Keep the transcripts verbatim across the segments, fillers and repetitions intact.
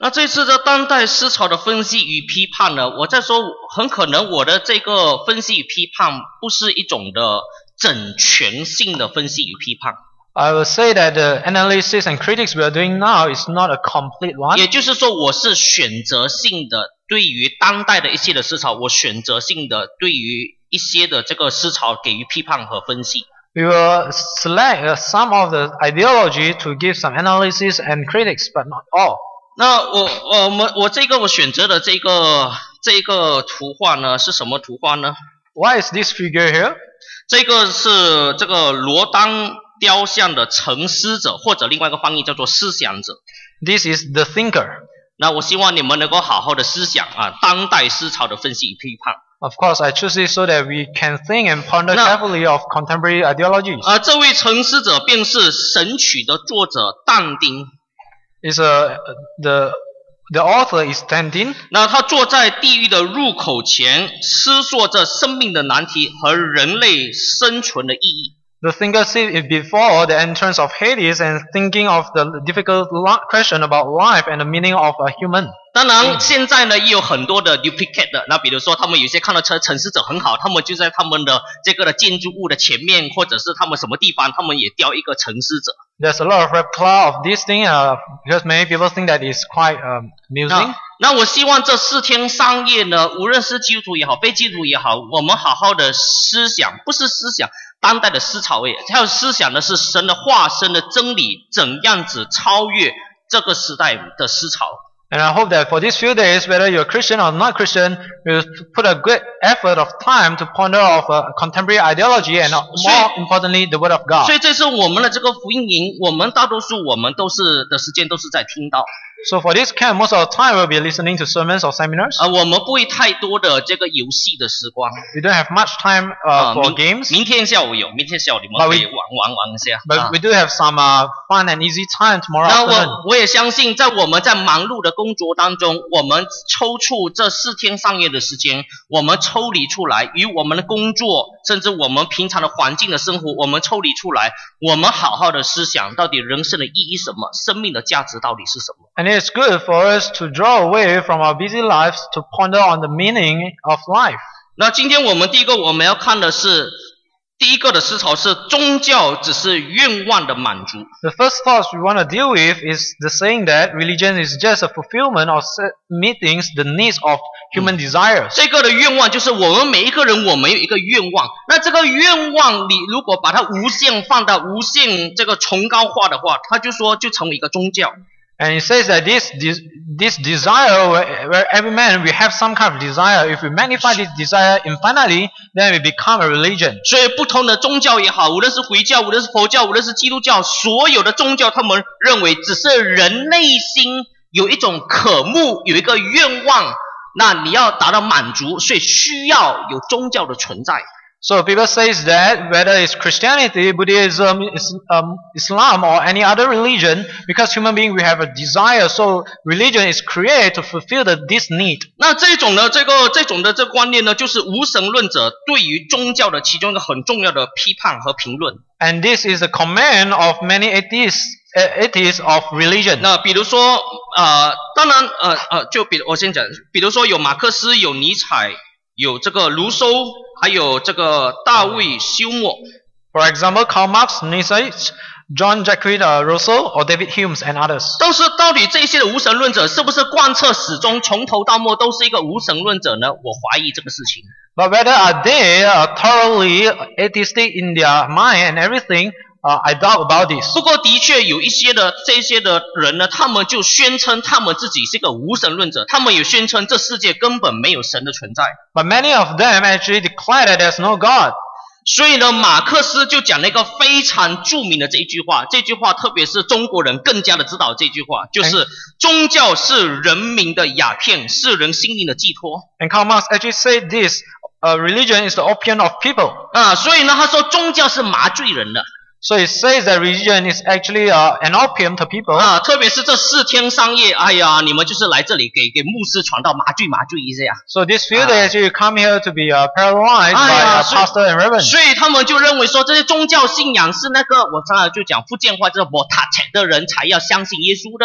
那这次的当代思潮的分析与批判呢，我在说很可能我的这个分析与批判不是一种的整全性的分析与批判。 I will say that the analysis and critics we are doing now is not a complete one. 也就是说，我是选择性的对于当代的一些的思潮，我选择性的对于一些的这个思潮给予批判和分析。 We will select uh, some of the ideology to give some analysis and critics, but not all. 那我我们我这个我选择的这个这个图画呢是什么图画呢？ Why is this figure here? 这个是这个罗丹雕像的沉思者，或者另外一个翻译叫做思想者。 This is the thinker. 那我希望你们能够好好的思想啊，当代思潮的分析与批判。 Of course, I choose it so that we can think and ponder carefully of contemporary ideologies. 啊，这位沉思者便是神曲的作者但丁。 Is a the the author is Dan Din. 那他坐在地狱的入口前，思索着生命的难题和人类生存的意义。 The thinker sits before the entrance of Hades and thinking of the difficult question about life and the meaning of a human. 当然，现在呢也有很多的 duplicate 的，那比如说他们有些看到车沉思者很好，他们就在他们的这个的建筑物的前面，或者是他们什么地方，他们也雕一个沉思者。 There's a lot of replica of this thing uh, because many people think that it's quite um, amusing. 那我希望这四天三夜呢，无论是基督徒也好，非基督徒也好，我们好好的思想，不是思想当代的思潮诶，还有思想的是神的化身的真理，怎样子超越这个时代的思潮。 And I hope that for these few days, whether you're Christian or not Christian, you'll put a great effort of time to ponder of uh, contemporary ideology and uh, more importantly, the Word of God. 所以这是我们的这个福音营，我们大多数我们都是的时间都是在听到。 So for this camp, most of the time we'll be listening to sermons or seminars. 啊，我们不会太多的这个游戏的时光。 We don't have much time uh, for games. 明天下午有，明天下午你们可以玩玩玩一下。 But we do have some uh, fun and easy time tomorrow 那 afternoon. 我我也相信，在我们在忙碌的工作当中，我们抽出这四天三夜的时间，我们抽离出来，与我们的工作，甚至我们平常的环境的生活，我们抽离出来，我们好好的思想，到底人生的意义什么，生命的价值到底是什么。 And it's good for us to draw away from our busy lives to ponder on the meaning of life. 那今天我们第一个我们要看的是，第一个的思潮是宗教只是愿望的满足。 The first thought we want to deal with is the saying that religion is just a fulfillment of meeting the needs of human desires. 这个的愿望就是我们每一个人，我们有一个愿望。那这个愿望，你如果把它无限放大、无限这个崇高化的话，它就说就成为一个宗教。 And it says that this this desire, where, where every man we have some kind of desire, if we magnify this desire infinitely, then we become a religion. 所以不同的宗教也好，无论是回教，无论是佛教，无论是基督教，所有的宗教，他们认为只是人内心有一种渴慕，有一个愿望，那你要达到满足，所以需要有宗教的存在。 So people say that whether it's Christianity, Buddhism, um, Islam or any other religion, because human beings we have a desire, so religion is created to fulfill the, this need. 那这种呢，这个这种的这个观念呢，就是无神论者对于宗教的其中一个很重要的批判和评论。 And this is the command of many atheists, uh, atheists of religion. 那比如说，呃，当然，呃呃，就比我先讲，比如说有马克思，有尼采。有这个卢梭，还有这个大卫休谟。 For example, Karl Marx, Nietzsche, John Jacques Rousseau, or David Hume and others. 都是到底这些的无神论者是不是贯彻始终从头到末都是一个无神论者呢？我怀疑这个事情。 But whether are they uh, thoroughly atheistic in their mind and everything? Uh, I doubt about this. 不过的确有一些的这些的人呢，他们就宣称他们自己是一个无神论者，他们也宣称这世界根本没有神的存在。 But many of them actually declare that there's no God. 所以呢，马克思就讲了一个非常著名的这一句话，这句话特别是中国人更加的知道这句话，就是宗教是人民的鸦片，是人心灵的寄托。 And Karl Marx actually said this, uh, religion is the opium of people. 啊，所以呢，他说宗教是麻醉人的。 So it says that religion is actually uh, an opium to people. 啊，特别是这四天三夜，哎呀，你们就是来这里给给牧师传道麻醉麻醉一下。 So this few days actually you come here to be uh, paralyzed by a pastor and reverend. 所以他们就认为说，这些宗教信仰是那个我刚才就讲福建话，就是我塔切的人才要相信耶稣的。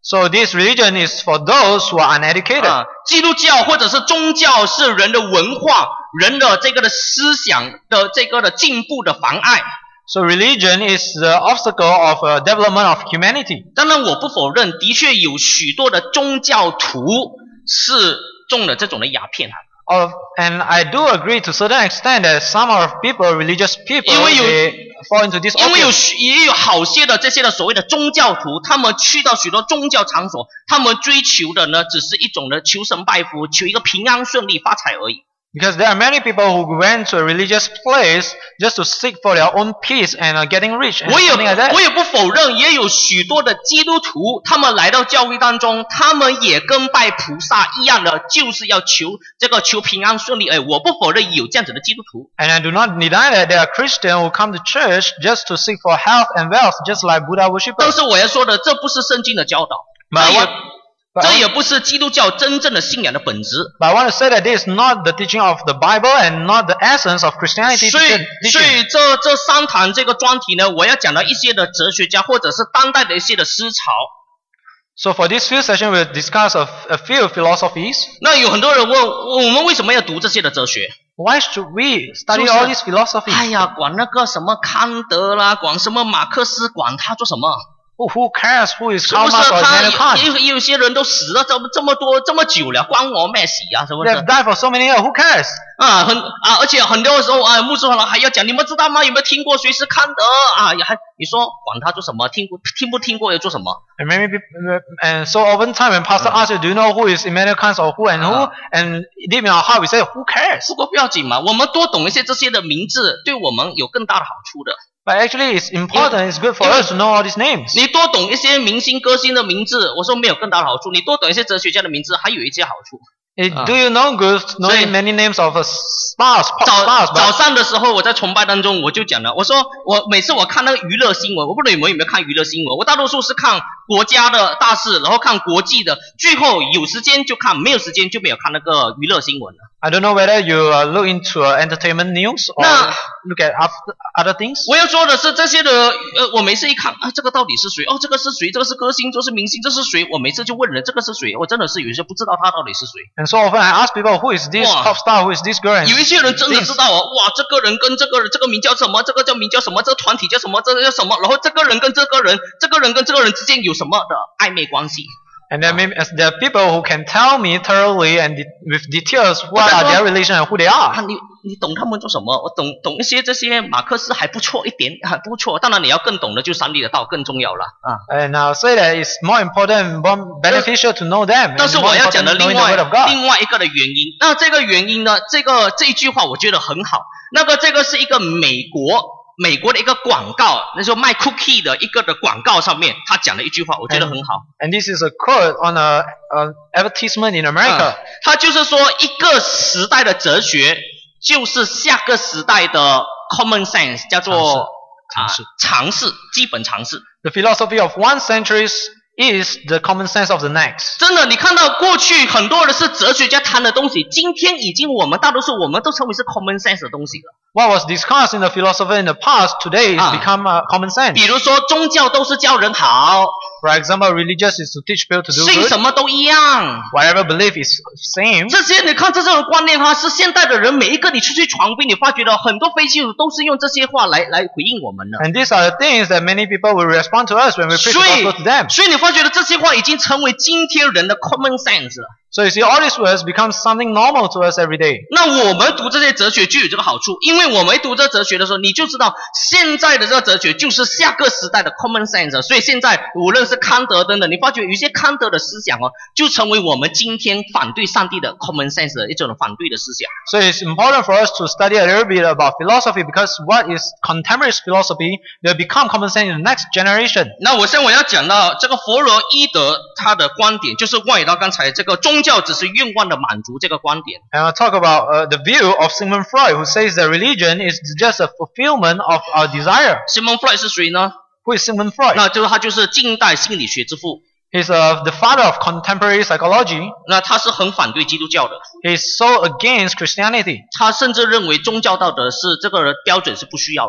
So this religion is for those who are uneducated. 啊，基督教或者是宗教是人的文化、人的这个的思想的这个的进步的妨碍。 So religion is the obstacle of uh, development of humanity. 当然，我不否认，的确有许多的宗教徒是中了这种的鸦片啊。 Of, and I do agree to a certain extent that some of people, religious people, 因为有 they fall into this 因为有 opium. 也有好些的这些的所谓的宗教徒，他们去到许多宗教场所，他们追求的呢，只是一种的求神拜佛，求一个平安顺利发财而已。 Because there are many people who went to a religious place just to seek for their own peace and uh, getting rich and 我也 something like that. 我也不否认，也有许多的基督徒，他们来到教会当中，他们也跟拜菩萨一样的，就是要求这个求平安顺利。哎，我不否认有这样子的基督徒。 And I do not deny that there are Christians who come to church just to seek for health and wealth, just like Buddha 但 worshippers. 是我要说的，这不是圣经的教导， But 这 I 也 want, but 这 I 也不是基督教真正的信仰的本质。 But I want to say that this is not the teaching of the Bible and not the essence of Christianity 所以，所 teaching. 以这这三堂这个专题呢，我要讲到一些的哲学家或者是当代的一些的思潮。 So for this few sessions, we'll discuss a, a few philosophies. 那有很多人问我们为什么要读这些的哲学？ Why should we study 就是 all these philosophies? 哎呀，管那个什么康德啦，管什么马克思，管他做什么？ Who, who cares who is 是 Karl 不是 Marx or 他 Immanuel 也 Kant? 有有些人都死了这么这么多这么久了，关我咩事啊？是不 They 是 have？died for so many years. Who cares? 啊，很啊，而且很多时候啊，牧师好了还要讲，你们知道吗？有没有听过谁是康德啊？也还你说管他做什么？听过听不听过又做什么？ And maybe people, and so oftentimes when pastor asks you, do you know who is Immanuel Kant or who and who? And deep in our heart we say, who cares? 不过不要紧嘛，我们多懂一些这些的名字，对我们有更大的好处的。 But actually it's important, it's good for us to know all these names. 你多懂一些明星歌星的名字，我说没有更大的好处。你多懂一些哲学家的名字，还有一些好处。 Eh, Do you know good knowing many names of uh, stars, pop 早 stars? 早 But 上的时候，我在崇拜当中我就讲了，我说我每次我看那个娱乐新闻，我不知道你们有没有看娱乐新闻，我大多数是看国家的大事，然后看国际的，最后有时间就看，没有时间就没有看那个娱乐新闻了。 I don't know whether you uh, look into uh, entertainment news or 那 look at after, other things. 我要说的是这些的，呃，我每次一看啊，这个到底是谁？哦，这个是谁？这个是歌星，这是明星，这是谁？我每次就问人，这个是谁？我真的是有些不知道他到底是谁。 And so often I ask people, who is this Wow. pop star? Who is this girl? And 有一些人真的 things. 知道哦，哇，这个人跟这个人，这个名叫什么？这个叫名叫什么？这个团体叫什么？这个叫什么？然后这个人跟这个人，这个人跟这个人之间有什么的暧昧关系？ And there, may, as there are people who can tell me thoroughly and de with details what are their relation and who they 啊， are. 你你懂他们做什么？我懂懂一些这些马克思还不错一点，还不错。当然你要更懂的就三立的道更重要了啊。 And I'll say that it's more important, more beneficial to know them. 但 And 是 more 我要讲 important 的 knowing 另 the 外 word of God. 另外一个的原因，那这个原因呢，这个这一句话我觉得很好。那个这个是一个美国美国的一个广告，那时候卖 cookie 的一个的广告上面，他讲了一句话，我觉得很好。 And this is a quote on a, a advertisement in America. 啊他就是说，一个时代的哲学就是下个时代的 common sense， 叫做常识啊常识，基本常识。 The philosophy of one century is the common sense of the next. 真的，你看到过去很多的是哲学家谈的东西，今天已经我们大多数我们都称为是 common sense 的东西了。 What was discussed in the philosophy in the past today is Ah. become uh, common 比 sense. 如说，宗教都是教人好， For example, religious is to teach people to do 信 good. 什么都一样。 Whatever belief is same. 这些你看这种观念哈，是现代的人每一个你出去传播，你发觉到很多非基督徒都是用这些话来来回应我们的。 And these are the things that many people will respond to us when we preach the 所以 gospel to them. 所以你发觉到这些话已经成为今天人的 common sense 了。 So you see, all these words become something normal to us every day. 那我们读这些哲学就有这个好处，因为我们读这哲学的时候，你就知道现在的这个哲学就是下个时代的 common sense。所以现在无论是康德等等，你发觉有一些康德的思想哦，就成为我们今天反对上帝的 common sense 的一种反对的思想。 So it's important for us to study a little bit about philosophy because what is contemporary philosophy will become common sense in the next generation. 那我现在我要讲到这个弗洛伊德他的观点，就是关于到刚才这个宗教只是愿望的满足这个观点。 And I'll talk about uh, the view of Sigmund Freud, who says that religion is just a fulfillment of our desire. Sigmund Freud 是谁呢？ Who is Sigmund Freud? 那就是他就是近代心理学之父。 He's uh, the father of contemporary psychology. 那他是很反对基督教的， He's so against Christianity. 他甚至认为宗教道德是这个标准是不需要的。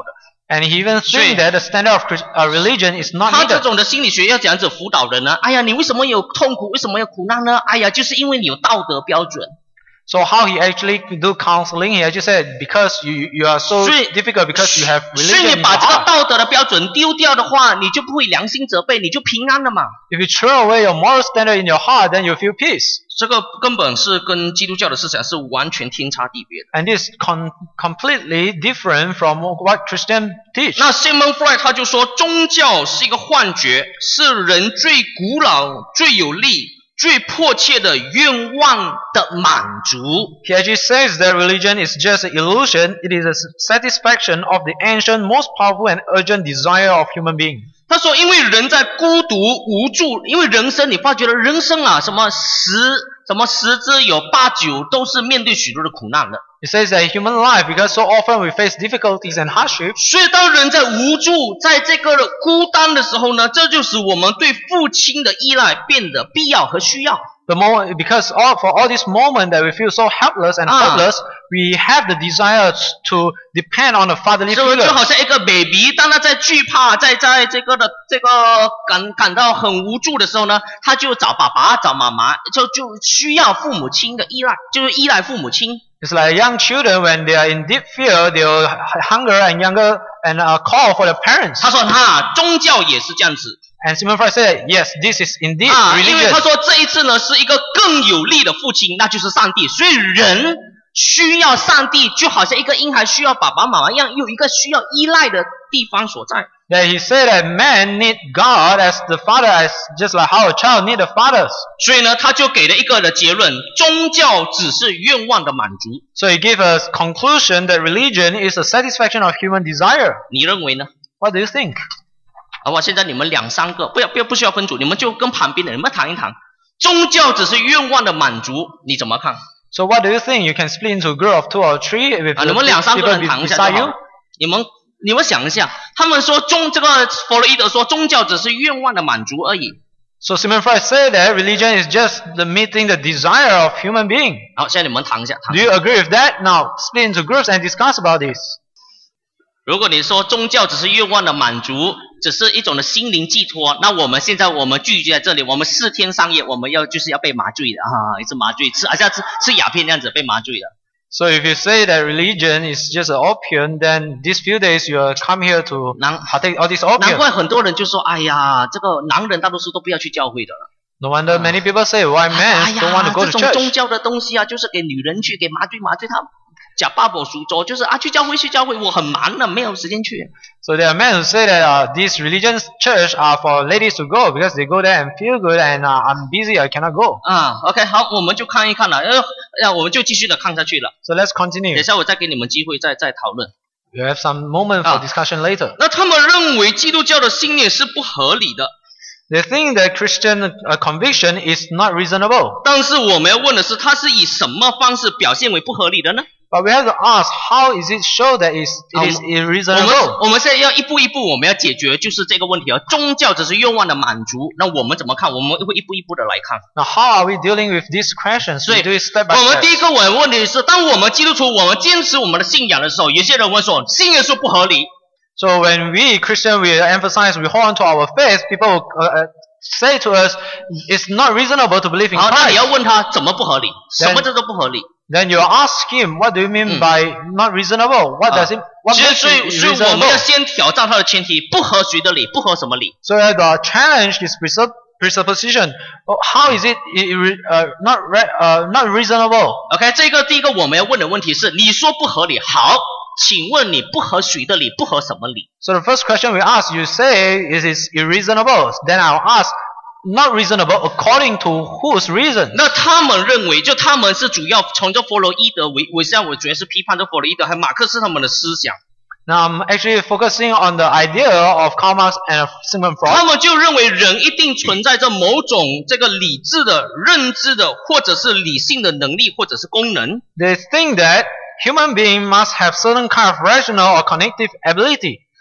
And he even 所以 think that the standard of Chris- uh, religion is not 他这 needed. 种的心理学要怎样子辅导人呢？哎呀，你为什么有痛苦？为什么有苦难呢？哎呀，就是因为你有道德标准。 So how he actually do counseling, he actually said, because you you are so 所以 difficult because you have 所以 religion 你 in your 把这个 heart. 道德的标准丢掉的话，你就不会良心责备，你就平安了嘛。 If you throw away your moral standard in your heart, then you feel peace. 这个根本是跟基督教的思想是完全天差地别的。 And this is con- completely different from what Christians teach. 那 Sigmund Freud 他就说，宗教是一个幻觉，是人最古老、最有力、最迫切的愿望的满足。 He actually says that religion is just an illusion. It is a satisfaction of the ancient, most powerful and urgent desire of human beings. 他说，因为人在孤独无助，因为人生你发觉了人生啊，什么十什么十之有八九都是面对许多的苦难的。 He says that human life, because so often we face difficulties and hardships, 所以当人在无助，在这个孤单的时候呢，这就使我们对父亲的依赖变得必要和需要。 the moment, because all, for all this moment that we feel so helpless and Ah. hopeless, we have the desire to depend on a fatherly 是不是 figure. 就好像一个 baby， 当他在惧怕，在在这个的这个感感到很无助的时候呢，他就找爸爸、找妈妈，就就需要父母亲的依赖，就是依赖父母亲。 It's like young children when they are in deep fear, they will hunger and younger and uh, call for their parents. 他说哈，宗教也是这样子 And Sigmund Freud said, yes, this is indeed 啊，因为 religion. 他说这一次呢是一个更有力的父亲，那就是上帝。所以人需要上帝，就好像一个婴孩需要爸爸妈妈一样，有一个需要依赖的地方所在。 That he said that man need God as the father, as just like how a child need a father. 所以呢，他就给了一个的结论：宗教只是愿望的满足。 So he gave us conclusion that religion is a satisfaction of human desire. 你认为呢？ What do you think? 好吧，现在你们两三个，不要不要不需要分组，你们就跟旁边的人们谈一谈。宗教只是愿望的满足，你怎么看？ So what do you think? You can split into a group of two or three with 啊，你们两三个 people 人谈一下 beside 就 you. 好。你们你们想一下，他们说宗这个弗洛伊德说宗教只是愿望的满足而已。 So Sigmund Freud said that religion is just the meeting the desire of human being. 好，现在你们谈一下。谈 Do 一 you 下 agree with that? Now split into groups and discuss about this. 如果你说宗教只是愿望的满足，只是一种的心灵寄托，那我们现在我们聚集在这里，我们四天三夜，我们要就是要被麻醉的啊，一直麻醉，吃好像吃吃鸦片那样子被麻醉的。 So if you say that religion is just an opium, then these few days you are come here to 难 partake all this 难 opium. 怪很多人就说，哎呀，这个男人大多数都不要去教会的了。 No wonder many people say why 哎 men don't want 呀 to，go 这 to 种宗 church. 教的东西啊，就是给女人去，给麻醉麻醉他。假爸爸属周，就是啊，去教会去教会，我很忙的，没有时间去。 So there are men who say that uh, these religions church are for ladies to go because they go there and feel good and uh, I'm busy, I cannot go. 啊 ，OK， 好，我们就看一看了，呃，呃我们就继续的看下去了。 So let's 等 continue. 一下我再给你们机会再再讨论。 We have some moment for Ah. discussion later. 那他们认为基督教的信念是不合理的， They think that Christian uh, conviction is not reasonable. 但是我们要问的是，它是以什么方式表现为不合理的呢？ But we have to ask, how is it show that it's, it is 我们 irreasonable? 我们现在要一步一步，我们要解决就是这个问题啊。宗教只是愿望的满足，那我们怎么看？我们会一步一步的来看。 Now, how are we dealing with these questions? 所 We 以 do it step by 我们 step. 第一个我问题是，当我们基督徒我们坚持我们的信仰的时候，有些人会说信耶稣不合理。 So when we Christian, we emphasize, we hold on to our faith, people uh, uh, say to us, it's not reasonable to believe in 好，那你 Christ. 要问他怎么不合理？ Then- 什么叫做不合理？ Then you ask him, what do you mean Mm. by not reasonable? What does it, what 其实 makes 所 it 以所以我们要 reasonable? 先挑战他的前提，不合谁的理？不合什么理？ So we have to challenge this presupp- presupposition. Oh, how is it irre- uh, not re- uh, not reasonable? OK， 这个第一个我们要问的问题是，你说不合理，好，请问你不合谁的理？不合什么理？ So the first question we ask, you say it is irreasonable. Then I'll ask, not reasonable according to whose reason? 那他们认为，就他们是主要从这弗洛伊德为为上，我主要是批判这弗洛伊德和马克思他们的思想。 Now I'm actually focusing on the idea of Karl Marx and Sigmund 他 Freud. 们就认为人一定存在着某种这个理智的、认知的，或者是理性的能力，或者是功能。 They think that human being must have certain kind of rational or cognitive ability.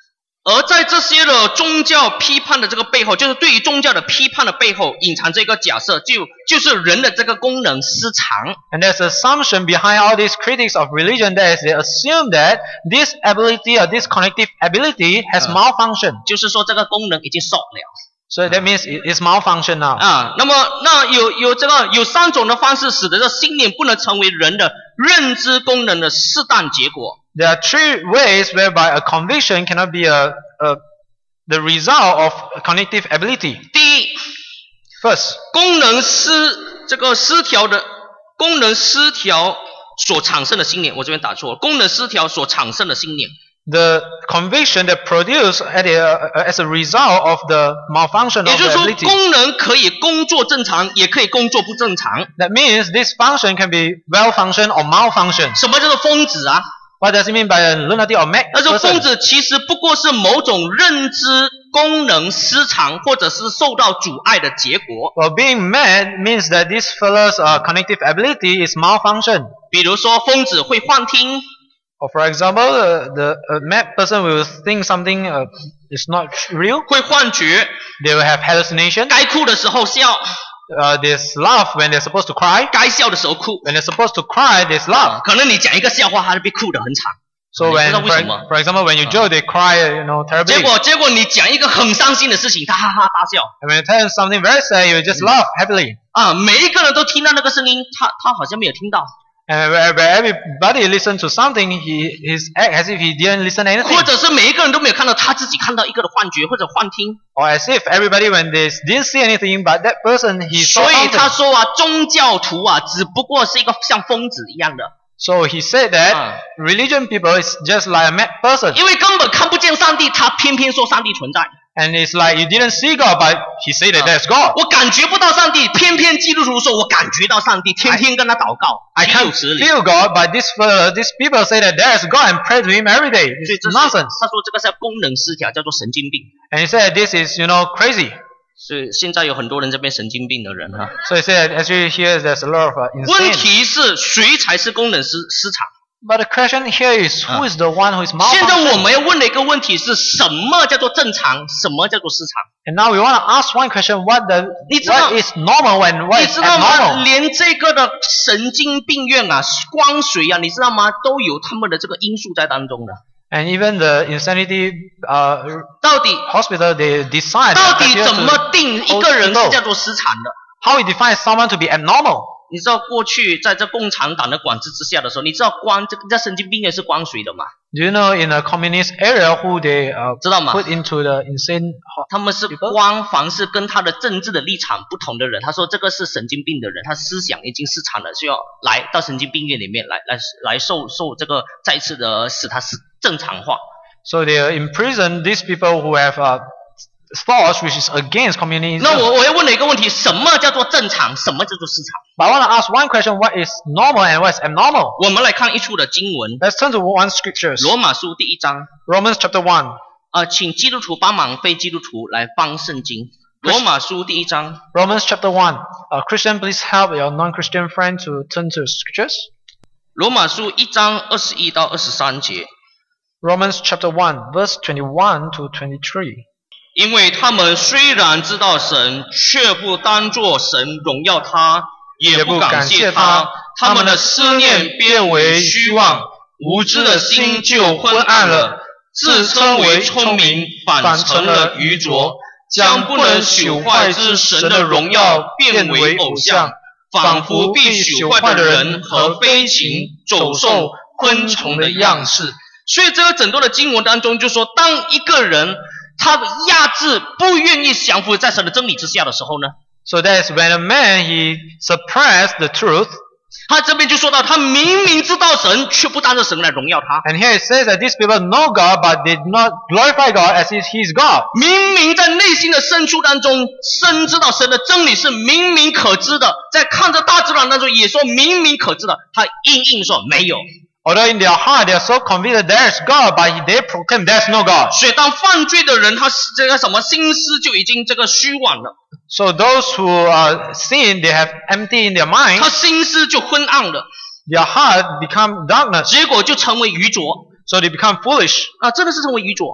而在这些的宗教批判的这个背后，就是对于宗教的批判的背后，隐藏着一个假设，就就是人的这个功能失常。 And there's an assumption behind all these critics of religion that is they assume that this ability or this cognitive ability has Uh. malfunctioned. 就是说这个功能已经少了。 So that means it is malfunctioned now. 啊，那么那有有这个有三种的方式，使得这信念不能成为人的认知功能的适当结果。 There are three ways whereby a conviction cannot be a, a the result of cognitive ability. 第一， First, 功能失这个失调的功能失调所产生的信念，我这边打错了，功能失调所产生的信念。 the conviction that produced at a, uh, as a result of the malfunction 也 of 就是 the 说， ability. 功能可以工作正常，也可以工作不正常。 That means this function can be well functioned or malfunction. 什么叫做疯子啊？ What does it mean by a lunatic or mad 那说疯 person? 子其实不过是某种认知功能失常，或者是受到阻碍的结果。 Well, being mad means that this fellow's uh, cognitive ability is malfunctioned. 比如说，疯子会幻听， Or for example, uh, the a mad person will think something uh, is not real. 会幻觉， They will have hallucination. 该哭的时候笑， Uh, they laugh when they're supposed to cry. 该笑的时候哭。 When they're supposed to cry, they laugh. 可能你讲一个笑话，他就被哭得很惨。 So 你不 when, 知道 for, 为什么？ for example, when you joke, they cry, you know, 结 terribly. 果结果你讲一个很伤心的事情，他哈哈大笑。 And when you tell them something very sad, you just laugh happily. 啊，每一个人都听到那个声音，他他好像没有听到， And where, where everybody listens to something, he he's act as if he didn't listen to anything. 或者是每一个人都没有看到，他自己看到一个的幻觉或者幻听。 Or as if everybody, when they didn't see anything, but that person, he saw 所以他 something. 说啊，宗教徒啊，只不过是一个像疯子一样的， So he said that Ah. religion people is just like a mad person. 因为根本看不见上帝，他偏偏说上帝存在。 And it's like you didn't see God, but he said that there's God. 我感觉不到上帝，偏偏基督徒说我感觉到上帝，天天跟他祷告， I 岂有 can't 此理？ feel God, but this uh, these people say that there is God and pray to Him every day. 所以 It's 这是 nonsense. 他说这个是功能失调，叫做神经病。 And he said this is, you know, crazy. 所以现在有很多人这边神经病的人哈。 So he said actually here there's a lot of uh, 问 insane. 题是谁才是功能失失常？ But the question here is who is the one who is 现在我 malfunctioning? 们要问的一个问题是什么叫做正常，什么叫做失常？ And now we want to ask one question: What the 你知道- what is normal and what 你 is 知道吗？ abnormal? 连这个的神经病院啊、光水啊，你知道吗？都有他们的这个因素在当中的。 And even the insanity uh, 到底 hospital, they decide 到 that 底 here 怎 to 么定一个人是叫做失常的？ how we define someone to be abnormal. 你知道过去在这共产党的管制之下的时候，你知道光这这神经病院是光谁的吗？ Do you know in a communist area who they uh, 知道吗？ put into the insane ho- 他们是光凡是跟他的政治的立场不同的人，他说这个是神经病的人，他思想已经失常了，需要来到神经病院里面来来来受受这个再次的使他是正常化。 So they imprison these people who have uh, thoughts which is against communism. 那我我要问了一个问题：什么叫做正常？什么叫做失常？ But I want to ask one question: What is normal and what is abnormal? 我们来看一处的经文， Let's turn to one scriptures. 罗马书第一章。 Romans chapter one. 啊，请基督徒帮忙非基督徒来帮圣经。罗马书第一章， Romans chapter one. Uh, Christian, please help your non-Christian friend to turn to scriptures. 罗马书一章二十一到二十三节。 Romans chapter one, verse twenty-one to twenty-three. 因为他们虽然知道神，却不当作神荣耀他，也不感谢他，他们的思念变为虚妄，无知的心就昏暗了，自称为聪明，反成了愚拙，将不能朽坏之神的荣耀变为偶像，仿佛必朽坏的人和飞禽、走兽、昆虫的样式。所以这个整段的经文当中就说，当一个人他压制不愿意降服在神的真理之下的时候呢， So that's when a man he suppressed the truth. 他这边就说到，他明明知道神，却不当着神来荣耀他。 And here it says that these people know God, but they do not glorify God as if He is God. 明明在内心的深处当中，深知道神的真理是明明可知的，在看着大自然当中也说明明可知的，他硬硬说没有。 Although in their heart they are so convinced there is God, but they proclaim there is no God. 所以当犯罪的人，他这个什么心思就已经这个虚妄了， So those who uh, sin, they have empty in their mind. 他心思就昏暗了， Their heart become darkness. 结果就成为愚拙 So they become foolish. 啊，真的是成为愚拙。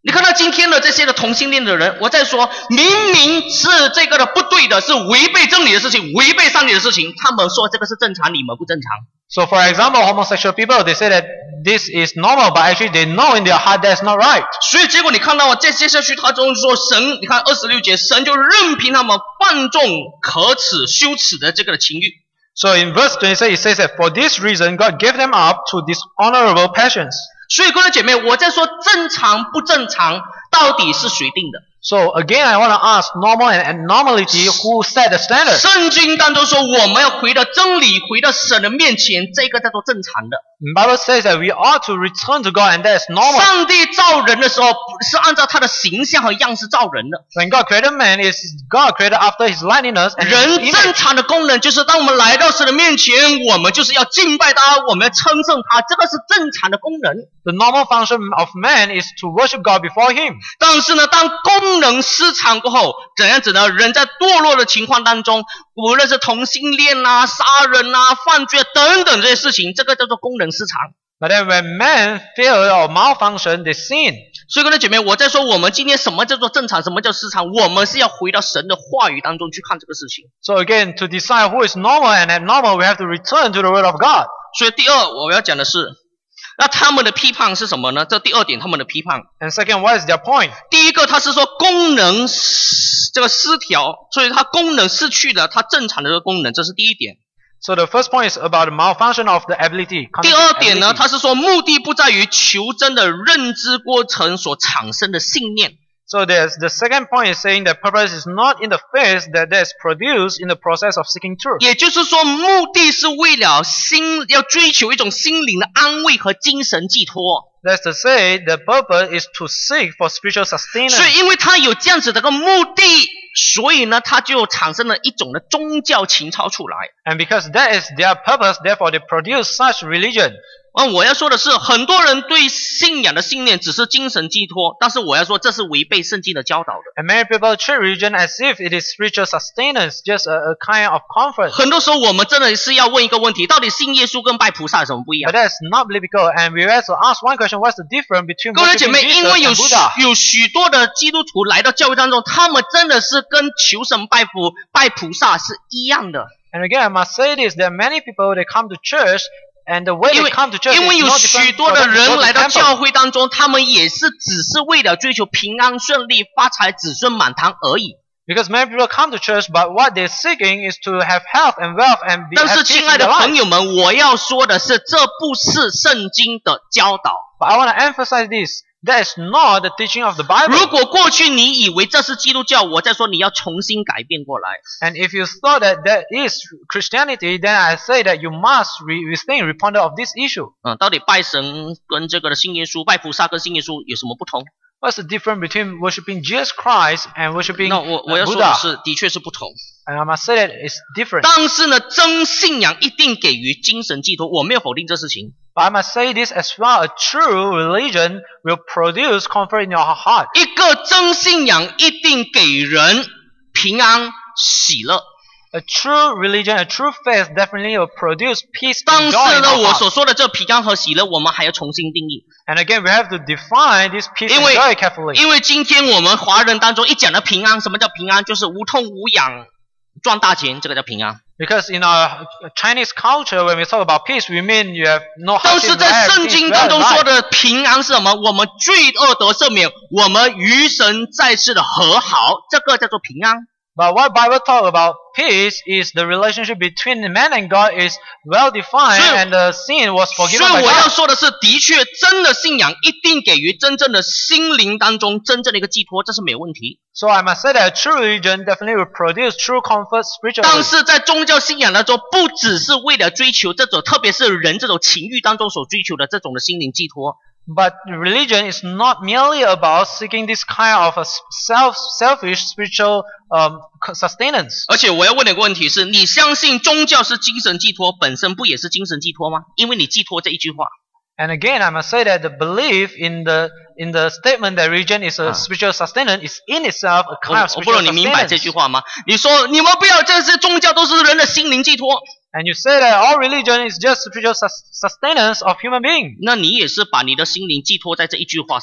你看到今天的这些的同性恋的人，我在说，明明是这个的不对的，是违背真理的事情，违背上帝的事情，他们说这个是正常，你们不正常。 So for example, homosexual people, they say that this is normal, but actually they know in their heart that's not right. 所以结果你看到在接下去他中说神，你看二十六节，神就任凭他们放纵可耻羞耻的这个情欲。 So in verse twenty-six, it says that for this reason, God gave them up to dishonorable passions. 所以各位姐妹，我在说正常不正常，到底是谁定的？ So again, I want to ask normal and abnormality, who set the standard? 圣经当中说我们要回到真理，回到神的面前，这个叫做正常的。 The Bible says that we ought to return to God, and that is normal. 上帝造人的时候是按照他的形象和样式造人的。 When God created man, is God created after His likeness and His 人 image. 正常的功能就是当我们来到神的面前，我们就是要敬拜他，我们要称颂他，这个是正常的功能。 The normal function of man is to worship God before Him. 但是呢，当功能失常过后，怎样子呢？人在堕落的情况当中，无论是同性恋啊、杀人啊、犯罪啊等等这些事情，这个叫做功能失常。 But then when man fail or malfunction, they sin. 所以各位姐妹，我在说我们今天什么叫做正常，什么叫失常，我们是要回到神的话语当中去看这个事情。 So again, to decide who is normal and abnormal, we have to return to the Word of God. 所以第二我要讲的是，那他们的批判是什么呢？这第二点，他们的批判。 And second, what is their point? 第一个，他是说功能这个失调，所以它功能失去了它正常的这个功能，这是第一点。 So the first point is about the malfunction of the ability. 第二点呢， ability. 他是说目的不在于求真的认知过程所产生的信念。 So there's the second point is saying that purpose is not in the faith that is produced in the process of seeking truth. 也就是说，目的是为了心要追求一种心灵的安慰和精神寄托。 That's to say, the purpose is to seek for spiritual 所 sustenance. 以，因为他有这样子的个目的，所以呢，他就产生了一种的宗教情操出来。 And because that is their purpose, therefore they produce such religion. 嗯，我要说的是，很多人对信仰的信念只是精神寄托，但是我要说，这是违背圣经的教导的。 And many people treat religion as if it is spiritual sustenance, just a, a kind of comfort. 很多时候，我们真的是要问一个问题：到底信耶稣跟拜菩萨有什么不一 But 样？ that's not biblical. And we have to ask one question: what's the difference between 各位姐 worshiping 妹，因 Jesus 为有 and 许 Buddha? 有许多的基督徒来到教会当中，他们真的是跟求神拜佛、拜菩萨是一样的。 And again, I must say this: there are many people they come to church, and the way 因 they 为 come to church 因为 is 有 not 许 different 多 for 的 them to 人 go to 来到 temple. 教会当中，他们也是只是为了追求平安顺利、发财、子孙满堂而已。 Because many people come to church, but what they're seeking is to have health and wealth and be 但 have 是， peace 亲 in 爱的 their 朋 life. 友们，我要说的是，这不是圣经的教导。 But I want to emphasize this: that is not the teaching of the Bible. 如果过去你以为这是基督教，我在说你要重新改变过来。 And if you thought that that is Christianity, then I say that you must re- rethink, reponder of this issue. 嗯，到底拜神跟这个的信耶稣、拜菩萨跟信耶稣有什么不同？ What's the difference between worshiping Jesus Christ and worshiping 那我我 uh, 要说的 Buddha? 是，的确是不同。 And I must say that it's different. 但是呢，真信仰一定给予精神寄托，我没有否定这事情。 But I must say this as well: a true religion will produce comfort in your heart. 一个真信仰一定给人平安喜乐。 A true religion, a true faith, definitely will produce peace 但 and 是 joy in 呢， our 我 heart. 所说的这平安和喜乐，我们还要重新定义。 And again, we have to define this peace 因 and 为 joy carefully. 因为今天我们华人当中一讲到平安，什么叫平安？就是无痛无痒赚大钱，这个叫平安。 Because in our Chinese culture, when we talk about peace, we mean you have no 但 hardship, 是 no 在 have 圣 peace, 经 well 当中 in 说 life. 的平安是什么？我们罪恶得赦免，我们与神再次的和好，这个叫做平安。 But what Bible talk about peace is the relationship between man and God is well defined, 所以- and the sin was 所以 forgiven by 我要 God. 说的是，的确，真的信仰一定给予真正的心灵当中真正的一个寄托，这是没有问题。 So I must say that true religion definitely will produce true comfort 但 spiritually. 是在宗教信仰当中，不只是为了追求这种，特别是人这种情欲当中所追求的这种的心灵寄托。 But religion is not merely about seeking this kind of a self, selfish spiritual um, sustenance. 而且我要问你一个问题是：你相信宗教是精神寄托，本身不也是精神寄托吗？因为你寄托这一句话。 And again, I must say that the belief in the in the statement that religion is a 啊。 spiritual sustenance is in itself a 我 kind of 我不知道 spiritual 你明白这句 sustenance. 话吗？你说你们不要，这些宗教都是人的心灵寄托， And you say that all religion is just spiritual sus- sustenance of human being. 那你也是把你的心灵寄托在这一句话上。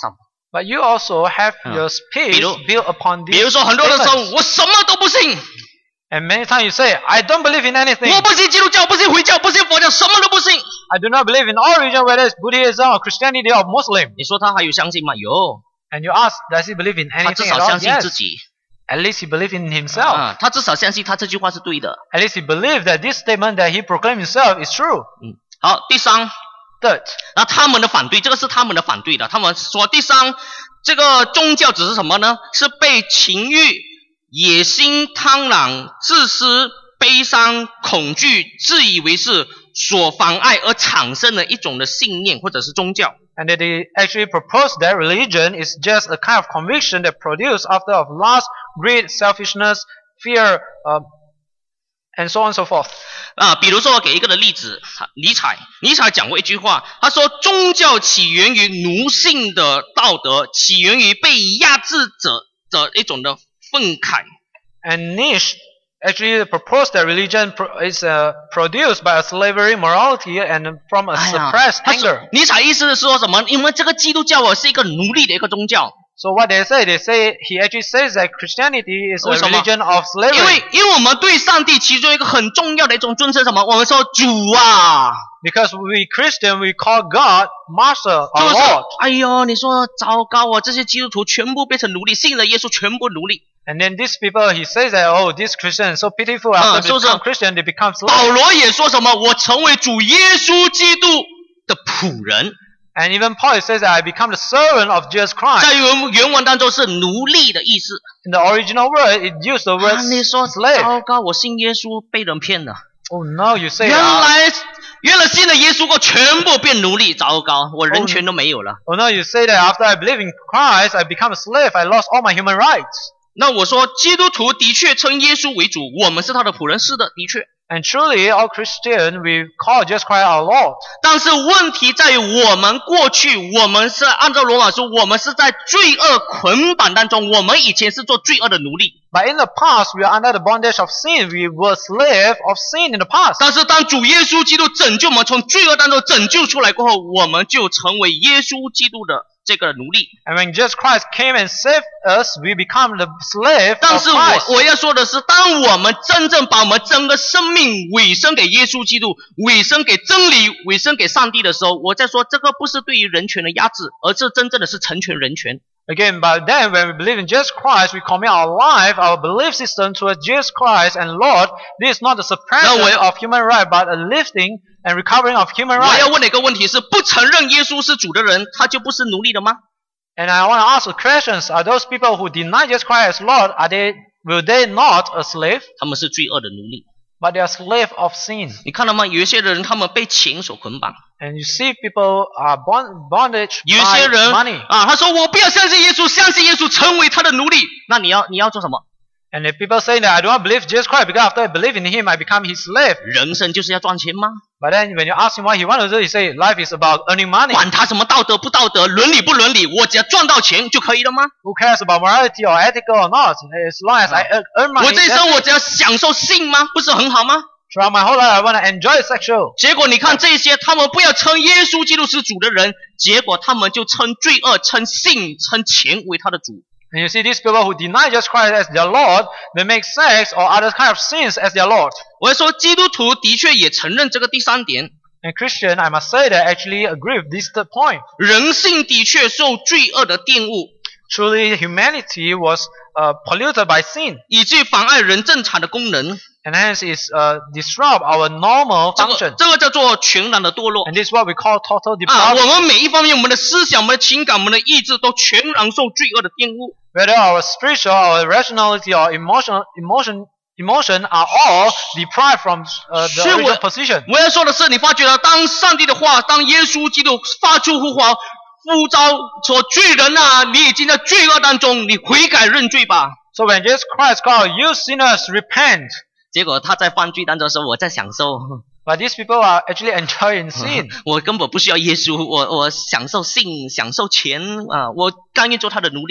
But you also have your speech 比如 built upon 比 these 如说，很多人说 statements. 我什么都不信， And many times you say, I don't believe in anything. 我不信基督教，不信回教，不信佛教，什么都不信。 I do not believe in all religion, whether it's Buddhism or Christianity or Muslim. 你说他还有相信吗？有， And you ask, does he believe in 他至 anything 少 at all? 相信 Yes. 自己 At least he believes in himself. 啊，他至少相信他这句话是对的。 At least he believes that this statement that he proclaimed himself is true. 嗯，好，第三， Third, 那他们的反对，这个是他们的反对的。他们说第三，这个宗教只是什么呢？是被情欲、野心、贪婪、自私、悲伤、恐惧、自以为是所妨碍而产生的一种的信念或者是宗教。 and that they actually propose that religion is just a kind of conviction that produced after of lust, greed, selfishness, fear, uh, and so on and so forth. 啊，比如说我给一个的例子，尼采，尼采讲过一句话，他说宗教起源于奴性的道德，起源于被压制者的一种的愤慨。 And Nietzsche actually proposed that religion pro- is uh, produced by a slavery morality and from a 哎呀 suppressed 他说 anger. 尼采意思是说什么？因为这个基督教哦是一个奴隶的一个宗教， So what they say, they say he actually says that Christianity is a 为什么？ religion of 因 slavery. 为因为我们对上帝其中一个很重要的一种尊称什么？我们说主啊， Because we Christian, we call God Master 就 or 是 Lord. 哎呦，你说糟糕啊，这些基督徒全部变成奴隶，信了耶稣全部奴隶。 And then these people, he says that, oh, these Christians so pitiful. Ah, After they so- so- become Christian, they become 保 slaves. 罗也说什么？我成为主耶稣基督的仆人， And even Paul says that I become the servant of Jesus 在 Christ. 原原文当中是奴隶的意思。 In the original word, it used the word 啊，你说 slave. 糟糕，我信耶稣被人骗了。 Oh no, you say, 原 uh, 来原来信了耶稣后全部变奴隶，糟糕，我人权都没有了。 oh no, you say that after I believe in Christ, I become a slave. I lost all my human rights. 那我说，基督徒的确称耶稣为主，我们是他的仆人，是的，的确。 And truly, all Christian, we call Jesus Christ our Lord. 但是问题在于，我们过去，我们是按照罗马书，我们是在罪恶捆绑当中，我们以前是做罪恶的奴隶。 But in the past, we are under the bondage of sin. We were slave of sin in the past. 但是当主耶稣基督拯救我们从罪恶当中拯救出来过后，我们就成为耶稣基督的这个奴隶。 And when Jesus Christ came and saved us, we become the slave 但 of 是我 Christ. 我要说的是，当我们真正把我们整个生命委身给耶稣基督，委身给真理，委身给上帝的时候，我在说这个不是对于人权的压制，而是真正的是成全人权。 Again, but then when we believe in Jesus Christ, we commit our life, our belief system towards Jesus Christ and Lord. This is not the suppression 那我要- of human right, but a lifting and recovering of human 我要 right. 问的一个问题是：不承认耶稣是主的人，他就不是奴隶的吗？ And I want to ask the questions: Are those people who deny Jesus Christ as Lord, are they will they not a slave? 他们是罪恶的奴隶。 But they are slave of sin. 你看到吗？有一些人他们被钱所捆绑， And you see people are bond, bondage 有一 by 些人 money. 啊，他说我不要相信耶稣，相信耶稣成为他的奴隶。那你要你要做什么？ And if people say that I do not believe Jesus Christ because after I believe in Him, I become His slave. 人生就是要赚钱吗？ But then when you ask him what he wants to do, he say life is about earning money. 管他什么道德不道德，伦理不伦理，我只要赚到钱就可以了吗？ Who cares about morality or ethical or not? As long as I earn- earn 我 money, 这一 that's 生 it. 我只要享受性吗？不是很好吗？ Throughout my whole life, I want to enjoy sexual. 结果你看这些，他们不要称耶稣基督是主的人，结果他们就称罪恶、称性、称钱为他的主。 And you see these people who deny Jesus Christ as their Lord, they make sex or other kind of sins as their Lord. 我要说，基督徒的确也承认这个第三点， And Christian, I must say that I actually agree with this third point. 人性的确受罪恶的玷污， Truly, humanity was uh, polluted by sin, 以致妨碍人正常的功能。 and hence is uh, disrupt our normal 这个 function. 这个叫做全然的堕落 And this is what we call total 啊！我 depravity. 们每一方面，我们的思想、我们的情感、我们的意志都全然受罪恶的玷污。 Whether our spiritual, our rationality, or emotional, emotion, emotion are all deprived from uh, the 所以我 original position. 我要说的是，你发觉了，当上帝的话，当耶稣基督发出呼唤，呼召说罪人啊，你已经在罪恶当中，你悔改认罪吧。 So when Jesus Christ called, you sinners, repent. 结果他在犯罪当中说，我在享受， But these people are actually enjoying sin. 我根本不需要耶稣，我我享受性，享受钱啊，我甘愿做他的奴隶。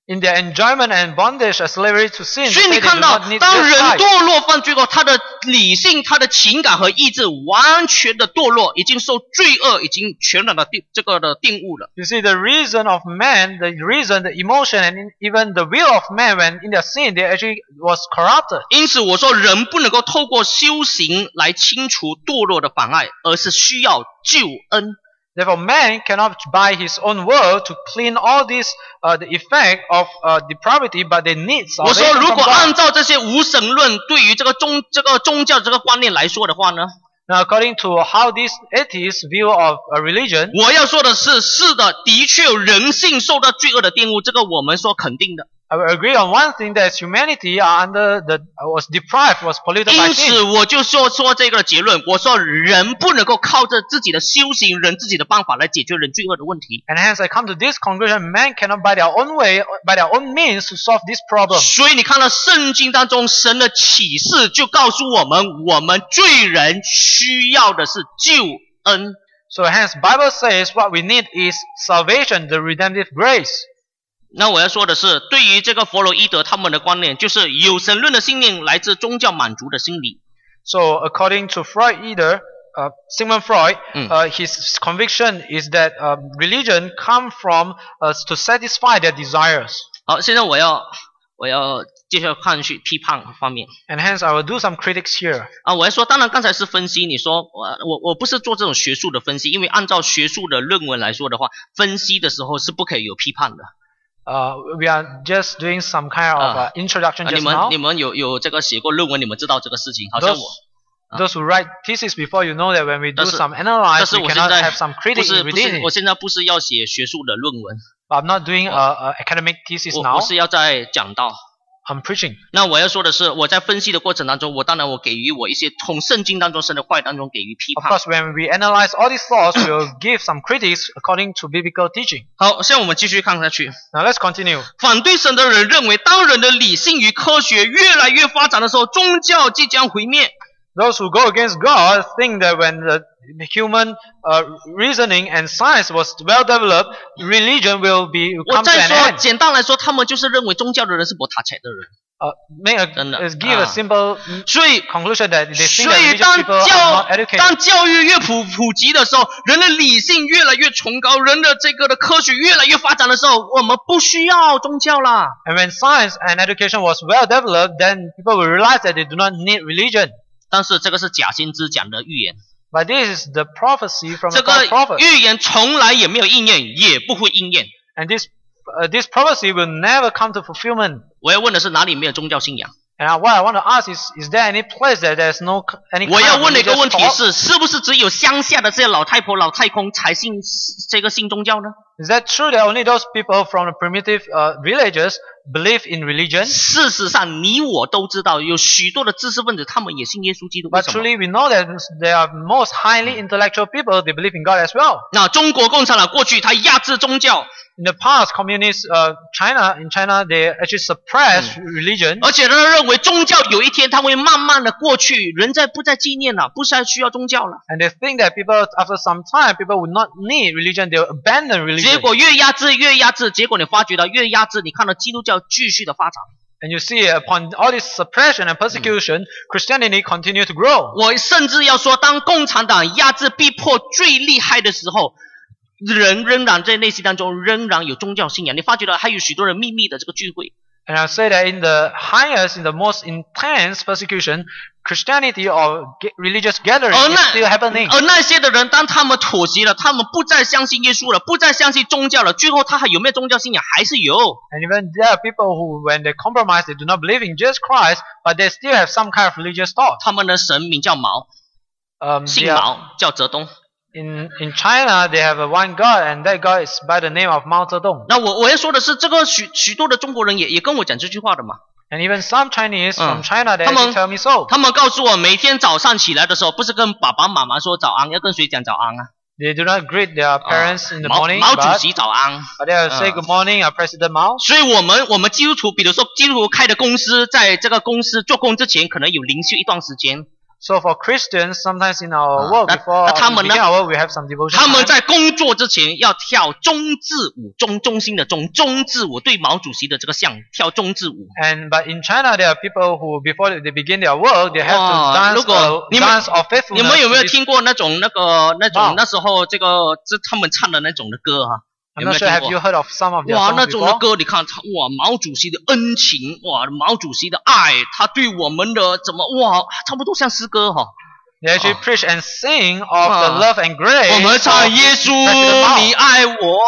In their enjoyment and bondage as slavery to sin, 所以 they 你 do 看到 not need 当 this 人 Christ. 堕落犯罪后，他的理性、他的情感和意志完全的堕落，已经受罪恶已经全然的定这个的定物了。 You see, the reason of man, the reason, the emotion, and even the will of man, when in their sin, they actually was corrupted. 因此我说人不能够透过修行来清除堕落的妨碍，而是需要救恩。 Therefore, man cannot by his own will to clean all this, uh, the effect of uh, depravity, but they need 我说 salvation 如 from 果按 God. 照这些无神论对于这个宗这个宗教这个观念来说的话呢， Now, according to how this atheist view of a religion, 我要说的是，是的，的确有人性受到罪恶的玷污，这个我们说肯定的。 I will agree on one thing, that humanity are under the was deprived, was polluted by 因此 sin. 我就说说这个结论，我说人不能够靠着自己的修行、人自己的办法来解决人罪恶的问题。 And hence, I come to this conclusion: man cannot by their own way, by their own means, to solve this problem. 所以你看到圣经当中神的启示就告诉我们，我们罪人需要的是救恩。 So hence, Bible says what we need is salvation, the redemptive grace. 那我要说的是，对于这个弗洛伊德他们的观念，就是有神论的信念来自宗教满足的心理。 So according to Freud, either uh, Sigmund Freud, Mm. uh, his conviction is that uh, religion come from uh, to satisfy their desires. 好，现在我要我要接下来看去批判方面 And hence, I will do some critics here. 啊。我要说，当然刚才是分析，你说我我我不是做这种学术的分析，因为按照学术的论文来说的话，分析的时候是不可以有批判的。 Uh, we are just doing some kind of uh, introduction 啊，你 just 们 now. 你们有有这个写过论文，你们知道这个事情，好像 Those, 我。 those who write thesis before, you know that when we do 但是 some 但 analyze, 是 we 我现 cannot 在 have some 不 critic 是 in 不是， reading 我 it. 现在不是要写学术的论文， But I'm not doing a, a academic thesis 我 now. 我是要在讲道。 I'm preaching. 那我要说的是，我在分析的过程当中，我当然我给予我一些从圣经当中神的话语当中给予批 Of 判。 course, when we analyze all these thoughts, we will give some critics according to biblical teaching. 好，现在我们继续看下去。 Now let's continue. 反对神的人认为，当人的理性与科学越来越发展的时候，宗教即将毁灭。 Those who go against God think that when the human uh, reasoning and science was well developed, religion will be 我 come to 再 an 说， end. 简单来说，他们就是认为宗教的人是不塔财的人。 Uh, make a, 真的， uh, give a 啊。 simple 所以， conclusion that they think 所 that 以 religious 当 people are 教 not educated. 当教育越普普及的时候，人的理性越来越崇高，人的这个的科学越来越发展的时候，我们不需要宗教啦。 And when science and education was well developed, then people will realize that they do not need religion. 但是这个是假先知讲的预言， But this is the prophecy from 这 a 个 false prophet. 预言从来也没有应验，也不会应验。 And this, uh, this prophecy will never come to fulfillment. 我要问的是，哪里没有宗教信仰？ And what I want to ask is, is there any place that there's no any 我 kind 要 of 问的一个 religious 问题 thought? 是，是不是只有乡下的这些老太婆、老太公才信这个信宗教呢？ Is that true that only those people from the primitive uh, villages believe in religion? 事实上，你我都知道，有许多的知识分子，他们也信耶稣基督。为 But 什么？ truly we know that there are most highly intellectual people, they believe in God as well. 那中国共产党过去他压制宗教， In the past, communist uh, China, in China, they actually suppressed religion. 而且他认为宗教有一天它会慢慢的过去，人再不再纪念了，不再需要宗教了。 And they think that people, after some time, people would not need religion, they will abandon 结 religion. 果越压制越压制，结果你发觉到越压制，你看到基督教继续的发展。 And you see, upon all this suppression and persecution, Christianity continued to grow. 我甚至要说，当共产党压制逼迫最厉害的时候，人仍然在内心当中仍然有宗教信仰。你发觉到还有许多人秘密的这个聚会。 And I say that in the highest, in the most intense persecution, Christianity or ge- religious gathering 而 is 那 still happening. 而那些的人，当他们妥协了，他们不再相信耶稣了，不再相信宗教了，最后他还有没有宗教信仰？还是有。 And even there are people who, when they compromise, they do not believe in Jesus Christ, but they still have some kind of religious thought. 他们的神名叫毛， Um, 姓 they are- 毛，叫泽东。 in, in China, they have a one God, and that God is by the name of Mao Zedong. 那我我要说的是，这个许许多的中国人也也跟我讲这句话的嘛。 And even some Chinese from Uh, China, they 他们- actually tell me so. 他们告诉我，每天早上起来的时候，不是跟爸爸妈妈说早安，要跟谁讲早安啊？ They do not greet their parents in the 毛 morning, 毛主 but, 席早安。 but they will say Uh. good morning, uh, President Mao. 所以我们我们基督徒，比如说基督徒开的公司，在这个公司做工之前，可能有灵修一段时间。 So for Christians, sometimes in our 啊 work, 那 before 那他们 we 呢？ begin our work, we have some devotion 他们 time. 在工作之前要跳中字舞，中中心的中中字舞，对毛主席的这个像跳中字舞。 And but in China, there are people who, before they begin their work, they have 哇， to dance 如果 a 你们 dance of 你 faithfulness. 们有没有 to this- 听过那种那个那种 Wow. 那时候这个这他们唱的那种的歌哈、 I'm 有没 not 有 sure. 听 Have 过？ you heard of some of their 哇， songs 那种的 before? 歌，你看，哇，毛主席的恩情，哇，毛主席的爱，他对我们的怎么，哇，差不多像诗歌哈、 They actually Oh. preach and sing of the Ah. love and grace. 我们 of 唱耶稣 President Mao. 你爱我，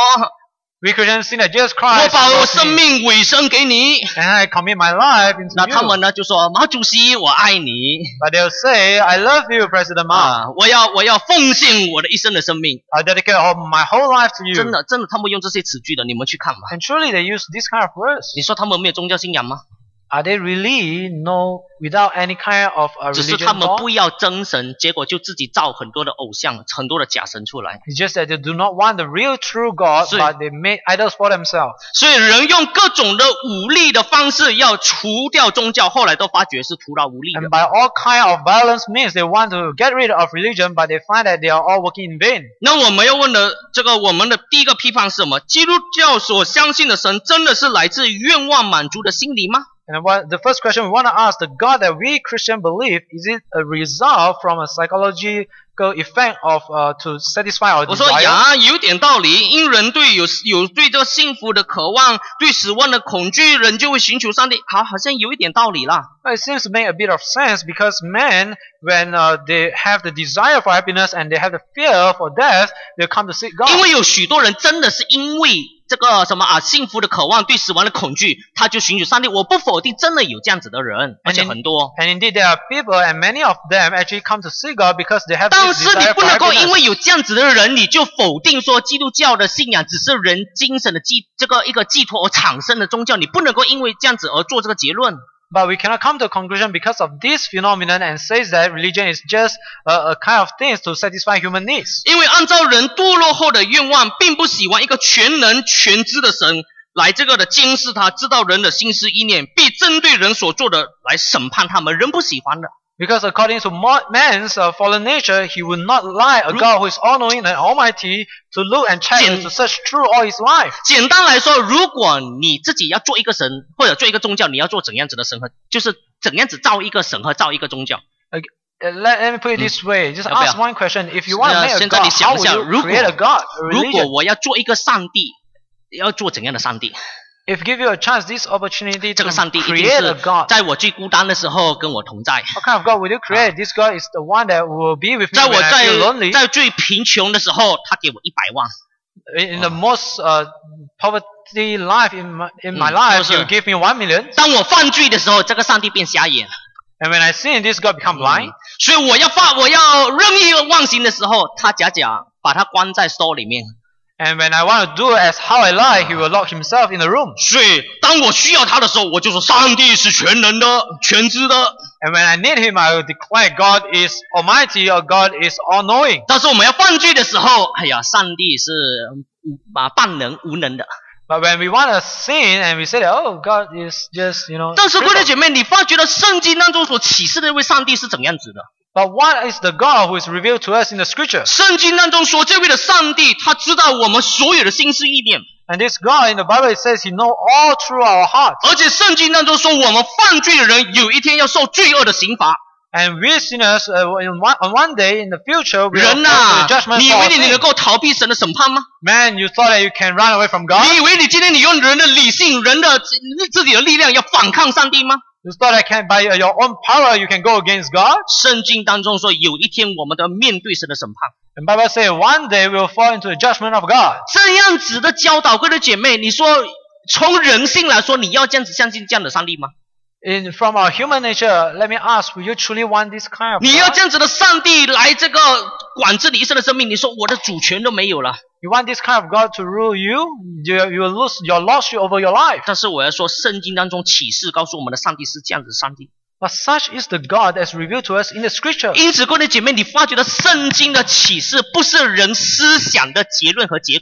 We Christians sing that Jesus 我 Christ 把我 loves 生 me, 命委身给你。 and I commit my life into 那他 you. 们呢就说毛主席我爱你 But they'll say, I love you, President Mao. 啊，我要我要奉献我的一生的生命。 I dedicate all, my whole life to you. 真的真的，他们用这些词句的，你们去看吧。 And truly they use this kind of words. 你说他们没有宗教信仰吗？ Are they really no without any kind of a 只是他 religion 们 law? 不要真神，结果就自己造很多的偶像，很多的假神出来。 It's just that they do not want the real true God, 是。 but they made idols for themselves. 所以人用各种的武力的方式要除掉宗教，后来都发觉是徒劳无力的 And。by all kind of violence means they want to get rid of religion, but they find that they are all working in vain. 那我们要问的这个，我们的第一个批判是什么？基督教所相信的神真的是来自愿望满足的心理吗？ And what, the first question we want to ask, the God that we Christian believe, is it a result from a psychological effect of uh, to satisfy our 我说 desire? 呀，有点道理。因人对有有对这个幸福的渴望，对死亡的恐惧，人就会寻求上帝。好，好像有一点道理啦。 Well, it seems to make a bit of sense because men, when uh, they have the desire for happiness and they have the fear for death, they come to seek 因 God. 为有许多人真的是因为这个什么啊，幸福的渴望，对死亡的恐惧，他就寻求上帝。我不否定，真的有这样子的人，而且很多。 And indeed, there are people, and many of them actually come to seek God because they have 但 this 是你 desire 不 for 能够 happiness. 因为有这样子的人，你就否定说基督教的信仰只是人精神的寄这个一个寄托而产生的宗教，你不能够因为这样子而做这个结论。 But we cannot come to a conclusion because of this phenomenon and says that religion is just a, a kind of things to satisfy human needs. 因为按照人堕落后的愿望，并不喜欢一个全能全知的神来这个的监视他，知道人的心思意念，并针对人所做的来审判他们，人不喜欢的。 Because according to man's uh, fallen nature, he would not lie a God who is all-knowing and almighty to look and check and to search through all his life. 简单来说，如果你自己要做一个神或者做一个宗教，你要做怎样子的神和，就是怎样子造一个神和造一个宗教。 Uh, let, let me put it this way. Just 要不要？ ask one question. If you want to 呃 make a 现在你 God, 想 how 一 would 下， you 如果 create a God, a 如果 religion? 我要做一个上帝，要做怎样的上帝？ If give you a chance, this opportunity 这 to 个上帝一定 create a 是 God. 在我最孤单的时候跟我同在， What kind of God will you create? This God is the one that will be with me 在我 when I feel lonely. 在在最贫穷的时候，他给我一百万。 In in the most uh, poverty life in my, in my 嗯， life, 就是。 He will give me one million. 当我犯罪的时候，这个上帝变瞎眼。 And when I sin, this God become blind. 所以我要发我要任意妄行的时候，他假假把他关在 store 里面。 And when I want to do as how I like, He will lock Himself in the room. 所以当我需要他的时候，我就说上帝是全能的、全知的。 And when I need Him, I will declare God is Almighty or God is all-knowing. 但是我们要犯罪的时候，哎呀，上帝是啊半能无能的。 But when we want to sin and we say that, oh, God is just, you know. 但是各位 crippled. 姐妹，你发觉到圣经当中所启示的那位上帝是怎样子的？ But what is the God who is revealed to us in the Scripture? 圣经当中说，这位的上帝，他知道我们所有的心思意念， And this God in the Bible, it says He knows all through our hearts. 而且圣经当中说，我们犯罪的人有一天要受罪恶的刑罚。 And we sinners, uh, in one, on one day in the future, we will 人 face 呐、 the judgment 你以 for 为 our 你能 sin. 够逃避神的审判吗？ Man, you thought that you can run away from God? 你以为你今天你用人的理性、人的自己的力量要反抗上帝吗？ You thought that can, by your own power you can go against God? 圣经当中说，有一天我们都要面对神的审判。 And Bible says one day we will fall into the judgment of God. 这样子的教导，各位的姐妹，你说从人性来说，你要这样子相信这样的上帝吗？ In from our human nature, let me ask, will you truly want this kind of 你要 God? 这样子的上帝来这个管制你一生的生命，你说我的主权都没有了。 You want this kind of God to rule you? You, you will lose your lordship over your life. 但是我要说，圣经当中启示告诉我们的上帝是这样子的上帝。 But such is the God that's revealed to us in the Scripture. 因此，各位姐妹，你发觉到圣经的启示不是人思想的结论和结果。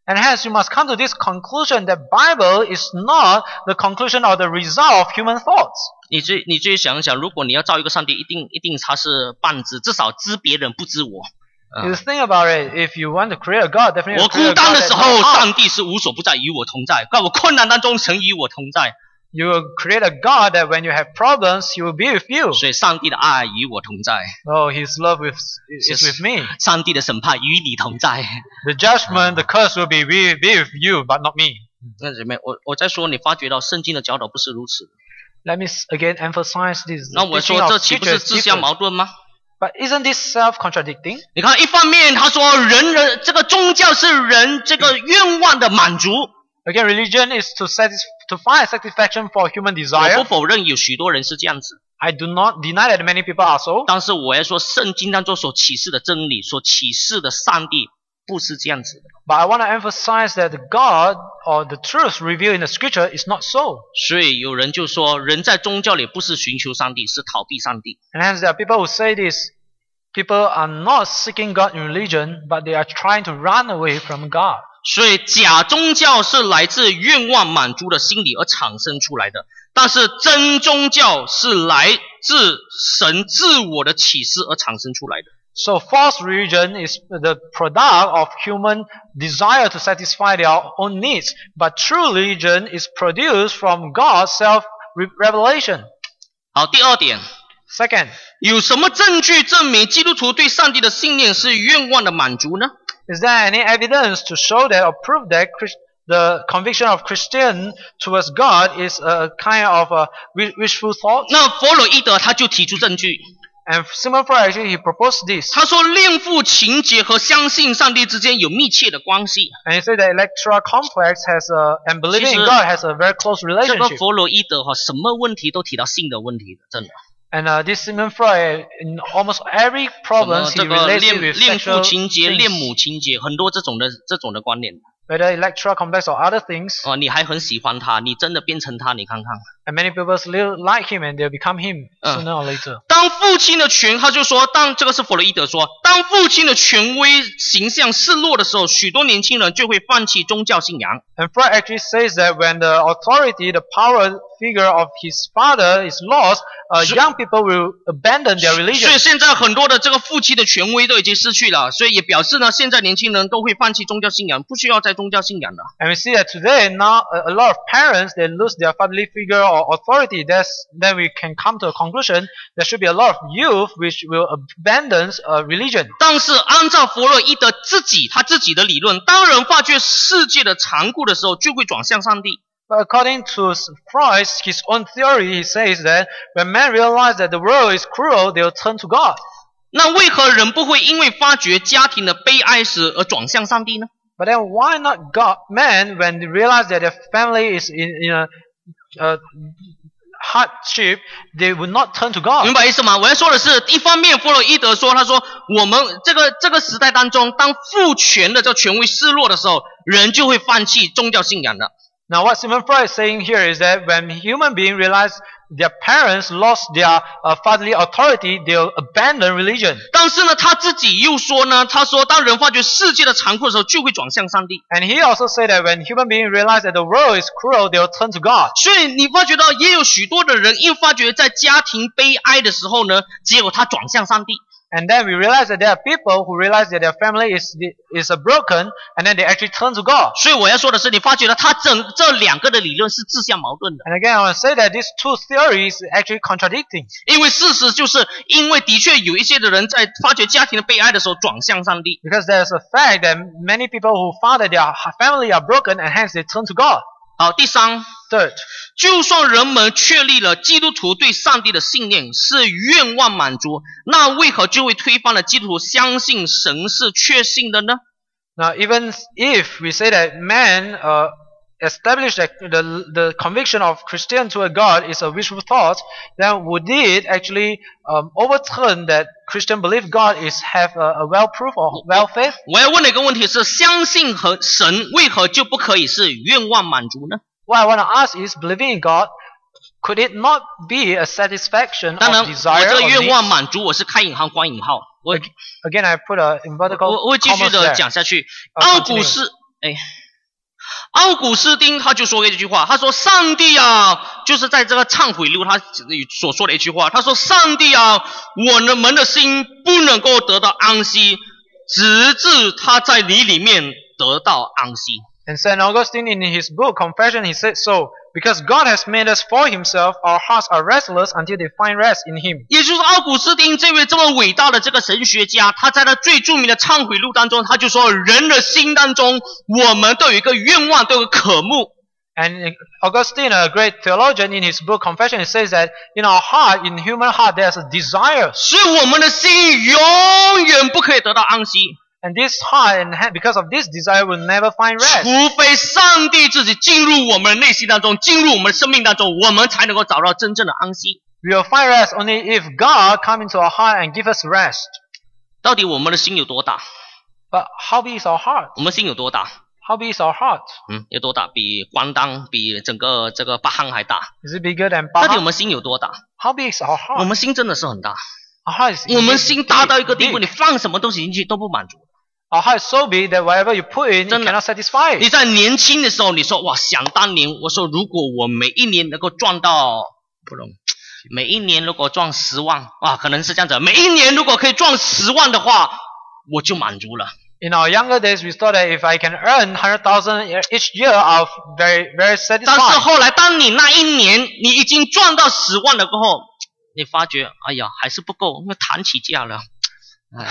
And hence you must come to this conclusion that Bible is not the conclusion or the result of human thoughts. 你自你自己想一想，如果你要造一个上帝，一定一定他是半知，至少知别人不知我。 You think about it. If you want to create a God, definitely 我 create 孤 a 单 God 的 that 时候， knows 上帝是无所不在，与我同在；在我困难当中，神与我同在。 You will create a God that when you have problems, He will be with you. 所以上帝的爱与我同在， Oh, His love with, is with me. 上帝的审判与你同在。 The judgment, the curse will be, be, be with you, but not me. 那姐妹，我我在说，你发觉到圣经的教导不是如此。 Let me again emphasize this. 那我 teaching 说， of 这岂不 Scripture 是 is 自相 different. 矛盾吗？ But isn't this self-contradicting? 你看，一方面他说人人这个宗教是人这个愿望的满足， Again, religion is to satisfy, to find satisfaction for human 我 desire. 不否认有许多人是这样子， I do not deny that many people are so. 但是我要说，圣经当中所启示的真理，所启示的上帝不是这样子的。 But I want to emphasize that the God or the truth revealed in the Scripture is not so. 所以有人就说，人在宗教里不是寻求上帝，是逃避上帝。 And hence there are people who say this. People are not seeking God in religion, but they are trying to run away from God. 所以假宗教是来自愿望满足的心理而产生出来的，但是真宗教是来自神自我的启示而产生出来的。 So false religion is the product of human desire to satisfy their own needs, but true religion is produced from God's self-revelation. 好，第二点， Second, 有什么证据证明基督徒对上帝的信念是愿望的满足呢？ is there any evidence to show that or prove that Christ, the conviction of Christian towards God is a kind of a wishful thought? 那弗洛伊德他就提出证据， And Sigmund Freud actually he proposed this. 他说恋父情结和相信上帝之间有密切的关系。 And he said that Electra complex has a, and believing 其实- in God has a very close 这个 relationship. 弗洛伊德哈，什么问题都提到性的问题的，真的。 And uh, this Sigmund Freud, in almost every 什 problem, 么 he 这个 relates it 恋 with 恋父 sexual 情结、 things. 恋母情结，很多这种的这种的观念。 Whether Electra complex or other things. 哦，你还很喜欢他，你真的变成他，你看看。 And many people still like him and they'll become him Uh. sooner or later. 当父亲的权，他就说，当这个是弗洛伊德说，当父亲的权威形象失落的时候，许多年轻人就会放弃宗教信仰。 And Freud actually says that when the authority, the power figure of his father is lost, uh, So- young people will abandon their 所 religion. 以现在很多的这个父亲的权威都已经失去了，所以也表示呢，现在年轻人都会放弃宗教信仰，不需要再宗教信仰了。 And we see that today now a, a lot of parents they lose their fatherly figure or authority. That's, then we can come to a conclusion there should be a lot of youth which will abandon uh, religion. 但是按照弗洛伊德自己他自己的理论，当人发觉世界的残酷的时候，就会转向上帝。 But according to Freud, his own theory, he says that when men realize that the world is cruel, they'll turn to God. 那为何人不会因为发觉家庭的悲哀时而转向上帝呢？ But then why not God, men, when they realize that their family is in, in a, a hardship, they would not turn to God? 明白意思吗？我要说的是，一方面弗洛伊德说，他说我们这个这个时代当中，当父权的这个权威失落的时候，人就会放弃宗教信仰的。 Now what Sigmund Freud is saying here is that when human beings realize their parents lost their uh, fatherly authority, they'll abandon religion. 但是呢，他自己又说呢，他说当人发觉世界的残酷的时候，就会转向上帝。 And he also said that when human beings realize that the world is cruel, they'll turn to God. 所以你发觉到，也有许多的人，因发觉在家庭悲哀的时候呢，结果他转向上帝。 And then we realize that there are people who realize that their family is is a broken, and then they actually turn to God. 所以我要说的是，你发觉到他整这两个的理论是自相矛盾的。 And again, I want to say that these two theories are actually contradicting. 因为事实就是因为的确有一些的人在发觉家庭的悲哀的时候转向上帝。 Because there's a fact that many people who found that their family are broken, and hence they turn to God. 好，第三， Third, 就算人们确立了基督徒对上帝的信念是愿望满足，那为何就会推翻了基督徒相信神是确信的呢？ now even if we say that man uh, established that the, the conviction of Christian toward God is a wishful thought, then would it actually um, overturn that Christian belief God is have a, a well proof or well faith? 我要问的一个问题是：相信和神为何就不可以是愿望满足呢？ What I want to ask is, believing in God, could it not be a satisfaction 当然， of 我 desire 这 or 个愿望 needs? 满足，我是开引号关引号。我 Again, I put a in vertical 我我会继续 commas 的 there. 讲下去。 I'll 奥古斯， 哎，奥古斯丁他就说了这句话，他说上帝啊，就是在这个忏悔录他所说的一句话，他说上帝啊，我们的心不能够得到安息，直至他在你里面得到安息。 And Saint Augustine in his book Confession, he said so, because God has made us for himself, our hearts are restless until they find rest in him. 也就是奥古斯丁这位这么伟大的这个神学家，他在他最著名的忏悔录当中，他就说人的心当中，我们都有一个愿望，都有一个渴慕。 And Augustine, a great theologian, in his book Confession, he says that in our heart, in human heart, there's a desire. 所以我们的心永远不可以得到安息。 And this heart, and because of this desire, will never find rest. 除非上帝自己进入我们的内心当中，进入我们的生命当中，我们才能够找到真正的安息。 We will find rest only if God come into our heart and give us rest. 到底我们的心有多大？ But how big is our heart? 我们心有多大？ How big is our heart? 嗯，有多大？比关当，比整个这个巴汉还大。 Is it bigger than 到底我 Pahang? 们心有多大？ How big is our 我 heart? 们心真的是很大。 Our heart is 我们 big, 心大到一个地 big. 步，你放什么东西进去都不满足。 Our heart is so big that whatever you put in, it 真的。 cannot satisfy 你 it. 在年轻的时候，你说哇，想当年，我说如果我每一年能够赚到，不容易，每一年如果赚十万，哇，可能是这样子，每一年如果可以赚十万的话，我就满足了。 In our younger days, we thought that if I can earn one hundred thousand each year, I'll very, very 但是 satisfied. 后来，当你那一年你已经赚到十万了过后，你发觉，哎呀，还是不够，因为谈起价了。哎，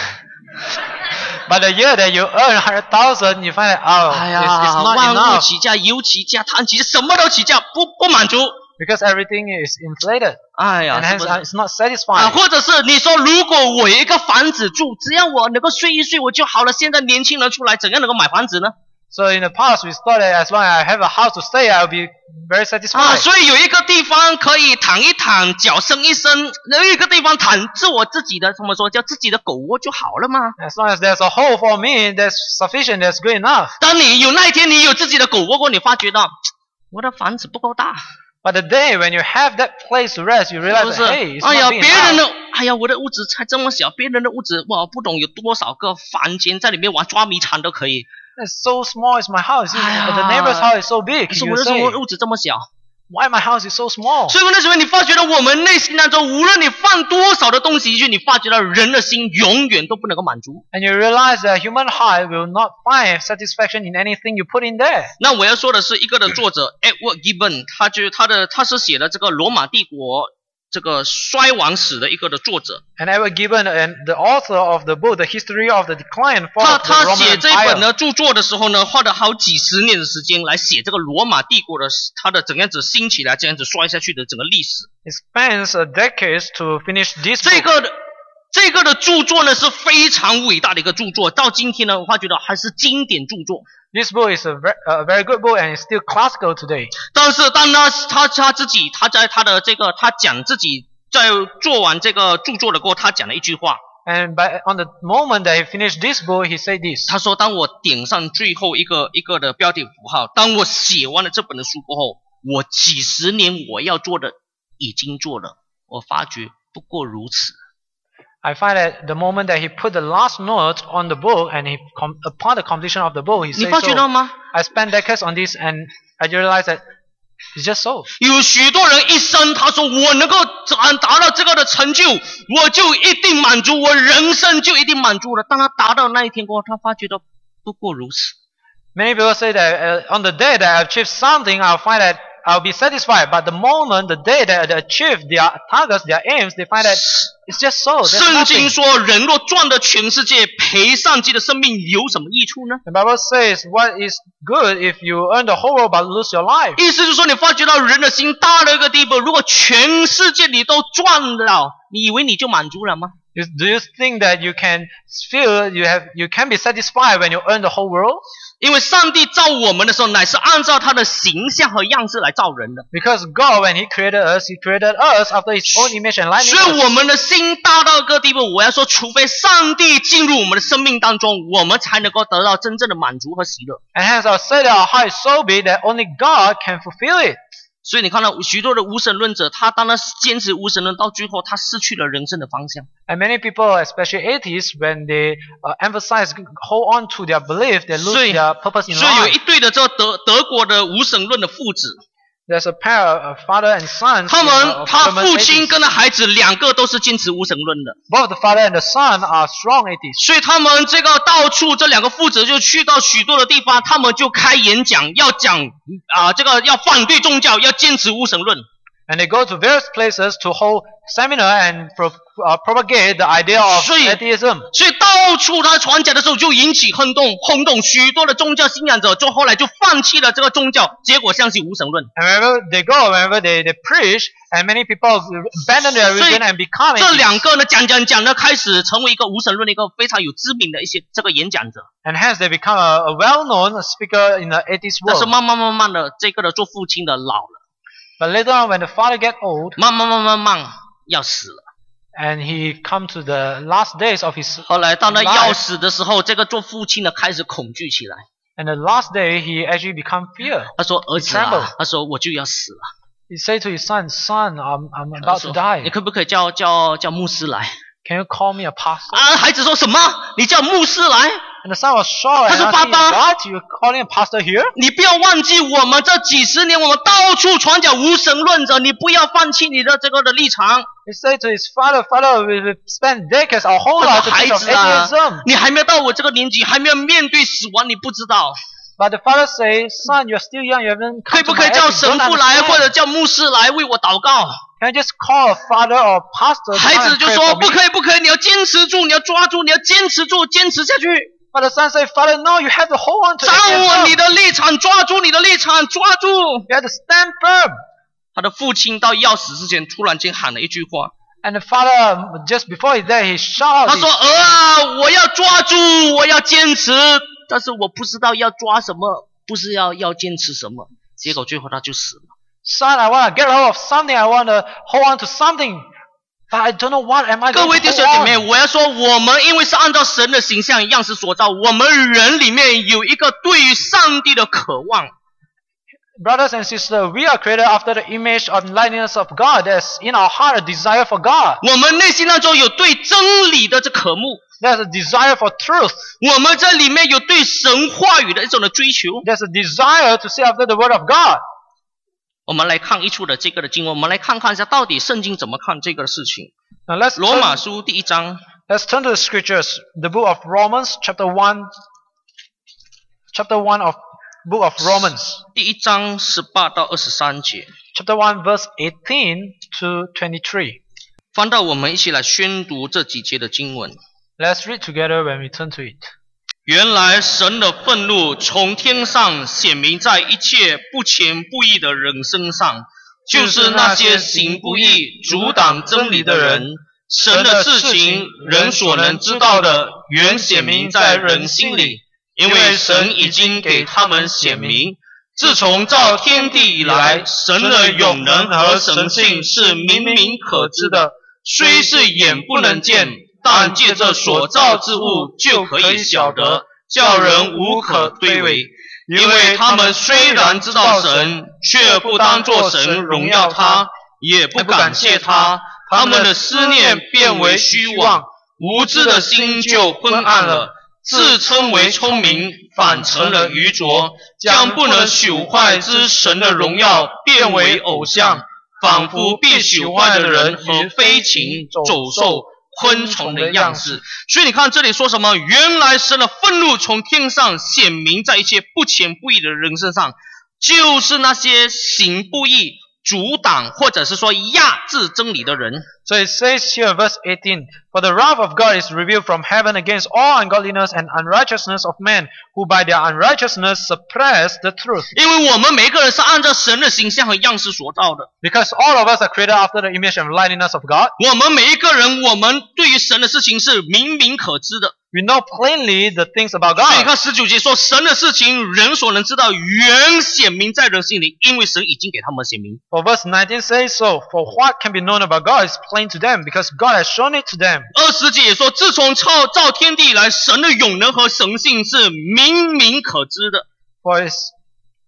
But the year that you earn one hundred thousand, you find that, oh, 哎 it's, 呀， it's not 万物 enough 起价，油起价，碳起价，什么都起价，不不满足。 because everything is inflated 哎呀， and 是 hence 不是？ uh, it's not 啊， satisfying. 或者是你说，如果我有一个房子住，只要我能够睡一睡我就好了。现在年轻人出来，怎样能够买房子呢？ So in the past, we thought that as long as I have a house to stay, I'll be very 啊， satisfied. 所以有一个地方可以躺一躺，脚伸一伸，有一个地方躺是我自己的，怎么说叫自己的狗窝就好了嘛。 As long as there's a hole for me, that's sufficient, that's good enough. 当你有那一天你有自己的狗窝过，你发觉到我的房子不够大， But the day when you have that place to rest, you 是 realize 不 that, 是？ hey, it's 哎呀， not big 别人 enough. 的，哎呀，我的屋子才这么小，别人的屋子哇，不懂有多少个房间，在里面玩捉迷藏都可以。 It's so small, it's my house. 哎呀， The neighbor's house is so big. 可是 You 我的 say, 什么屋子这么小？ why my house is so small? 所以那时候你发觉到我们内心当中，无论你放多少的东西进去，你发觉到人的心永远都不能够满足。 And you realize that human heart will not find satisfaction in anything you put in there. 那我要说的是，一个的作者 Edward Gibbon， 他就他的他是写的这个罗马帝国这个衰亡史的一个的作者。 And Edward Gibbon, and the author of the book, The History of the Decline and Fall 他 of the 他 Roman 写这本 Empire. 呢著作的时候呢，花了好几十年的时间来写这个罗马帝国的它的怎样子兴起来，怎样子衰下去的整个历史。 It spans uh, decades to finish this 这 book. 个的这个的著作呢是非常伟大的一个著作，到今天呢，我发觉到还是经典著作。 This book is a very, a very good book and it's still classical today. 但是当他他他自己他在他的这个他讲自己在做完这个著作的过后，他讲了一句话， And by, on the moment that he finished this book, he said this. 他说：“当我点上最后一个一个的标点符号，当我写完了这本的书过后，我几十年我要做的已经做了，我发觉不过如此。” I find that the moment that he put the last note on the book and he com- upon the completion of the book, he 你 said 发觉到 so. 吗？ I spent decades on this and I realized that it's just so. 有许多人一生他说我能够达达到这个的成就，我就一定满足，我人生就一定满足了。当他达到那一天过后，他发觉到不过如此。 Many people say that uh, on the day that I achieve something, I'll find that I'll be satisfied. But the moment, the day that they achieve their targets, their aims, they find that it's just so. There's 圣经 nothing. 说，人若赚得全世界，赔上自己的生命，有什么益处呢？ The Bible says, what is good if you earn the whole world but lose your life? 意思就是说，你发觉到人的心大到一个地步，如果全世界你都赚了，你以为你就满足了吗？ You- Do you think that you can feel you have you can be satisfied when you earn the whole world? 因为上帝造我们的时候，乃是按照他的形象和样式来造人的。 Because God, when He created us, He created us after His own image and 所以 likeness. 我们的心大到一个地步，我要说，除非上帝进入我们的生命当中，我们才能够得到真正的满足和喜乐。 And hence I'll say that our heart is so big that only God can fulfill it. 所以你看到许多的无神论者，他当然坚持无神论，到最后他失去了人生的方向。 And many people, especially atheists, when they uh, emphasize, hold on to their belief, they lose 所以 their purpose in 所以有 life. 一对的这个德德国的无神论的父子， There's a pair, a father and son. 他 uh, 们 of 他 German 父亲 atheists. 跟他孩子两个都是坚持无神论的， Both the father and the son are strong atheists. 所以他们这个到处这两个父子就去到许多的地方，他们就开演讲，要讲啊、这个要反对宗教，要坚持无神论。 And they go to various places to hold seminar and pro, uh, propagate the idea of 所以 atheism. 所以到处他传讲的时候就引起轰动，轰动许多的宗教信仰者，就后来就放弃了这个宗教，结果相信无神论。 And wherever they go, wherever they, they preach, and many people abandon their 所以 religion and become 这 atheists. 两个呢，讲讲讲呢，开始成为一个无神论的一个非常有知名的一些这个演讲者。 And hence they become a, a well-known speaker in the atheist 但是 world. 慢慢慢慢的，这个的做父亲的老了， But later on, when the father get old, 慢慢慢慢慢要死了。 and he come to the last days of his 后来到了 life, 要死的时候，这个做父亲的开始恐惧起来。 and the last day he actually become fear. 他说：“儿子 trembled. 啊，他说我就要死了。 He said to his son, son, I'm, I'm 他 about 说 to die. 你可不可以叫叫叫牧师来？ Can you call me a pastor? 啊，孩子说什么？你叫牧师来？ And the son was shocked. 他 And 说 asked him, 爸爸 what? You calling a pastor here? 你不要忘记，我们这几十年，我们到处传讲无神论者，你不要放弃你的这个的立场。 He said to his father, father, we we spent decades, our whole 他 life 说 to 孩 teach of 子啊 atheism.， 你还没有到我这个年纪，还没有面对死亡，你不知道。 But the father says, son, you're still young, you haven't 可以 come 不 to 可 my 以叫 age, you 神 don't 父来，或 understand. 者叫牧师来为我祷告？ Can I just call a father or a pastor to 孩 come 子 and 就 pray 说 for 不 me? 可以，不可以，你要坚持住，你要抓住，你要坚持住，坚持下去。 But the son said, father, no, you have to hold on to 掌握你 atheism. 的立场，抓住你的立场，抓住。 You have to stand firm. 他的父亲到要死之前，突然间喊了一句话， And the father, just before he's there, he shouted 他 out, 说：“儿啊，我要抓住，我要坚持，但是我不知道要抓什么，不是要要坚持什么。”结果最后他就死了。 son, I want to get hold of something, I want to hold on to something. But I don't know what am I 各 going 位 to 弟兄 hold 姐妹， on. 我要说，我们因为是按照神的形象样式所造，我们人里面有一个对于上帝的渴望。 Brothers and sisters, we are created after the image and likeness of God. There's in our heart a desire for God. 我们内心当中有对真理的这渴慕， There's a desire for truth. 我们这里面有对神话语的一种的追求。 There's a desire to see after the word of God. 我们来看一处的这个的经文，我们来看看一下到底圣经怎么看这个事情。 Now let's 罗马 turn, 书第一章 let's turn to the scriptures. The book of Romans, chapter one, chapter one of book of Romans, 第一章十八到二十三节， chapter one, verse eighteen to twenty-three. 翻到我们一起来宣读这几节的经文。 Let's read together when we turn to it. 原来神的愤怒从天上显明在一切不虔不义的人身上，就是那些行不义、阻挡真理的人。神的事情，人所能知道的，原显明在人心里，因为神已经给他们显明。自从造天地以来，神的永能和神性是明明可知的，虽是眼不能见，但借着所造之物就可以晓得，叫人无可推诿。因为他们虽然知道神，却不当作神荣耀他，也不感谢他，他们的思念变为虚妄，无知的心就昏暗了，自称为聪明，反成了愚拙，将不能朽坏之神的荣耀变为偶像，仿佛被朽坏的人和飞禽、走兽、昆虫的样式。所以你看这里说什么？原来神的愤怒从天上显明在一切不虔不义的人身上，就是那些行不义、阻挡或者是说压制真理的人。 So it says here, verse eighteen, For the wrath of God is revealed from heaven against all ungodliness and unrighteousness of men, who by their unrighteousness suppress the truth. 因为我们每个人是按照神的形象和样式所造的， Because all of us are created after the image and likeness of God. 我们每一个人，我们对于神的事情是明明可知的。 We know plainly the things about 所以你 God. 看十九节说，神的事情人所能知道，原显明在人心里，因为神已经给他们显明。 For verse nineteen says so, For what can be known about God is plain to them, because God has shown it to them. 二十节也说，自从造造天地以来，神的永能和神性是明明可知的。 For, it's,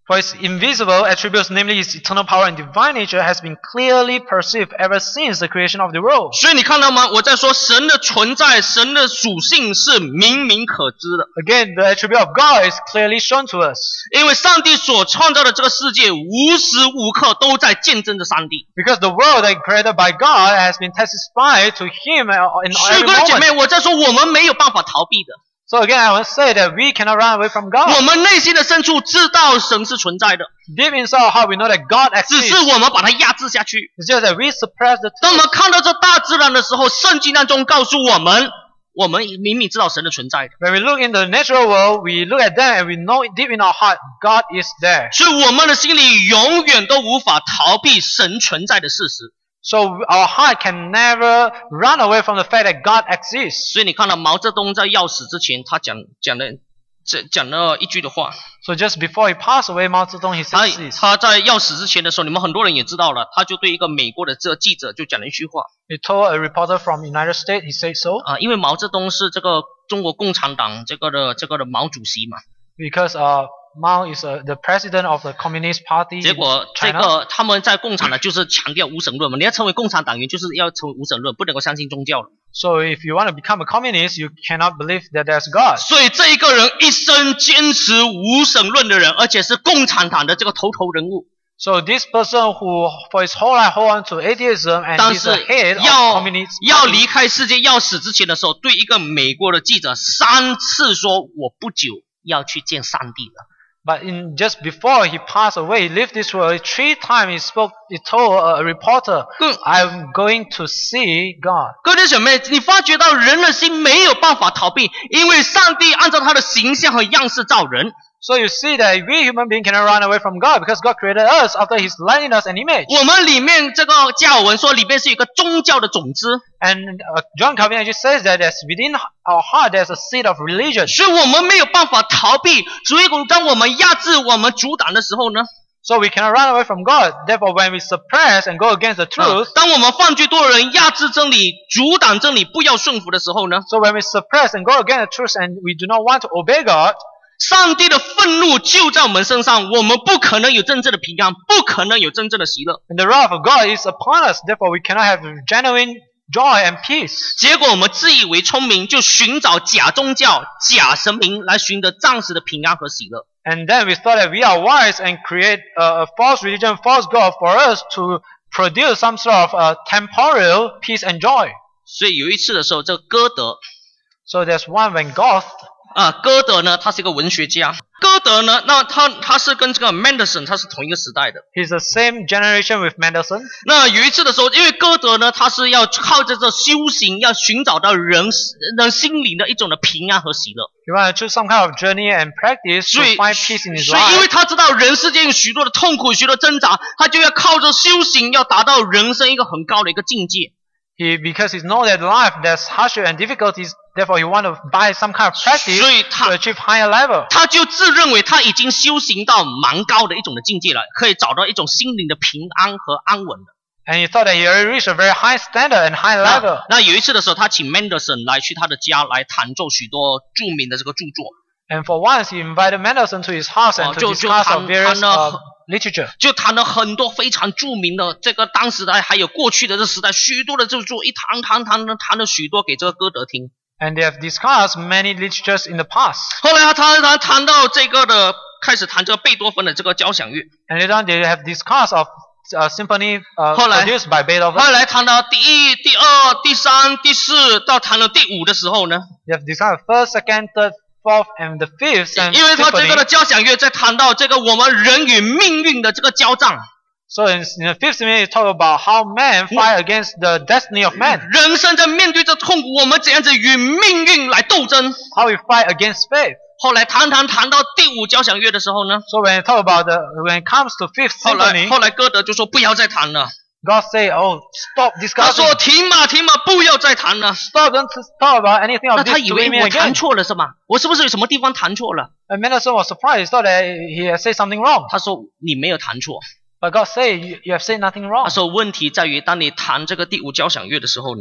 For its invisible attributes, namely its eternal power and divine nature, has been clearly perceived ever since the creation of the world. 所以你看到吗？我在说神的存在，神的属性是明明可知的。 Again, the attribute of God is clearly shown to us. 因为上帝所创造的这个世界，无时无刻都在见证着上帝。 Because the world that created by God has been testified to Him in 所以 every 各位姐 moment. 妹，我在说我们没有办法逃避的。 So again, I want to say that we cannot run away from 我 God. 们内心的深处知道神是存在的， Deep inside our heart, we know that God 只 exists. 是我们把它压制下去。 It's just that we suppress the 当我 truth. 们看到这大自然的时候，圣经当中告诉我们，我们明明知道神的存在的， When we look in the natural world, we look at them and we know deep in our heart, God is there. 所以我们的心里永远都无法逃避神存在的事实。 So our heart can never run away from the fact that God exists. 所以你看到毛泽东在要死之前，他讲讲的这讲了一句的话， So just before he passed away, Mao Zedong, he 他 said this. 他在要死之前的时候，你们很多人也知道了，他就对一个美国的这个记者就讲了一句话 He told a reporter from United States, he said so, 啊，因为毛泽东是这个中国共产党这个的这个的毛主席嘛， because uh, Mao is uh, the president of the Communist Party 结 in 果这 China. 个他们在共产党就是强调无神论嘛，你要成为共产党员就是要成为无神论，不能够相信宗教了。 So if you want to become a communist, you cannot believe that there's God. 所以这一个人一生坚持无神论的人，而且是共产党的这个头头人物， So this person who for his whole life hold on to atheism and 但 is 是 the head of 要 communist 要 party. 离开世界要死之前的时候，对一个美国的记者三次说：“我不久要去见上帝了。” But in just before he passed away, he left this world. Three times he spoke, he told a reporter, 更 I'm going to see God. 各位姐妹，你发觉到人的心没有办法逃避，因为上帝按照他的形象和样式造人。 So you see that we human beings cannot run away from God because God created us after His likeness and image. 我们里面这个加尔文说，里面是有一个宗教的种子， And uh, John Calvin actually says that there's within our heart there's a seed of religion. 所以我们没有办法逃避。所以当我们压制、我们阻挡的时候呢， So we cannot run away from God. Therefore, when we suppress and go against the 啊 truth, 当我们犯罪多的人压制真理、阻挡真理、不要顺服的时候呢， so when we suppress and go against the truth and we do not want to obey God, 上帝的愤怒就在我们身上，我们不可能有真正的平安，不可能有真正的喜乐。 and the wrath of God is upon us. Therefore, we cannot have genuine joy and peace. 结果我们自以为聪明，就寻找假宗教、假神明来寻得暂时的平安和喜乐。 And then we thought that we are wise and create a, a false religion, false God for us to produce some sort of uh, temporal peace and joy. 所以有一次的时候，这个歌德 So there's one when Goethe, 啊，歌德呢，他是一个文学家。歌德呢，那他他是跟这个 Mendelssohn 他是同一个时代的。 he's the same generation with Mendelssohn. 那有一次的时候，因为歌德呢，他是要靠着这修行，要寻找到人人心灵的一种的平安和喜乐。 He wanted to choose some kind of journey and practice 所 to 以， find peace in his 所以因为 life. 他知道人世间有许多的痛苦、许多挣扎，他就要靠着修行，要达到人生一个很高的一个境界。 He, because he knows that life there's hardship and difficulties, therefore he want to buy some kind of practice 所以 to 他 achieve higher level. 他就自认为他已经修行到蛮高的一种的境界了，可以找到一种心灵的平安和安稳的。 And he thought that he already reached a very high standard and high 那 level. 那有一次的时候，他请 Mendelssohn 来去他的家来弹奏许多著名的这个著作， And for once, he invited Mendelssohn to his house and Oh, to 就- 就 discuss 谈- of various 谈了- uh, literature. 就弹了很多非常著名的这个当时代还有过去的这时代许多的著作，一弹弹弹弹弹了许多给这个歌德听。 And they have discussed many literatures in the past. 后来他弹弹弹到这个的开始弹这个贝多芬的这个交响乐， And later on, they have discussed of uh, symphony uh, 后来- produced by Beethoven. 后来弹到第一、第二、第三、第四，到弹到第五的时候呢， They have discussed first, second, third, fourth, and the fifth 因 and 因为他这 symphony. 个的交响乐在谈到这个我们人与命运的这个交战， So in, in the fifth symphony, it talk about how man fight against the destiny of man. 人生在面对这痛苦，我们怎样子与命运来斗争。 How we fight against faith. 后来谈谈谈到第五交响乐的时候呢， So when it talk about the when it comes to fifth 后来 symphony, 后来歌德就说不要再谈了， God say, "Oh, stop 他 discussing. 说停嘛停嘛，不要再谈了。 Stop, don't talk about anything 那 of 他 this 以 to 为 me 我弹 again." 错了是吗？我是不是有什么地方弹错了？ And Mendelssohn was surprised. He thought that he had said something wrong. 他说你没有弹错， But God say, you, you have said nothing wrong. 他说问题在于当你弹这个第五交响乐的时候呢，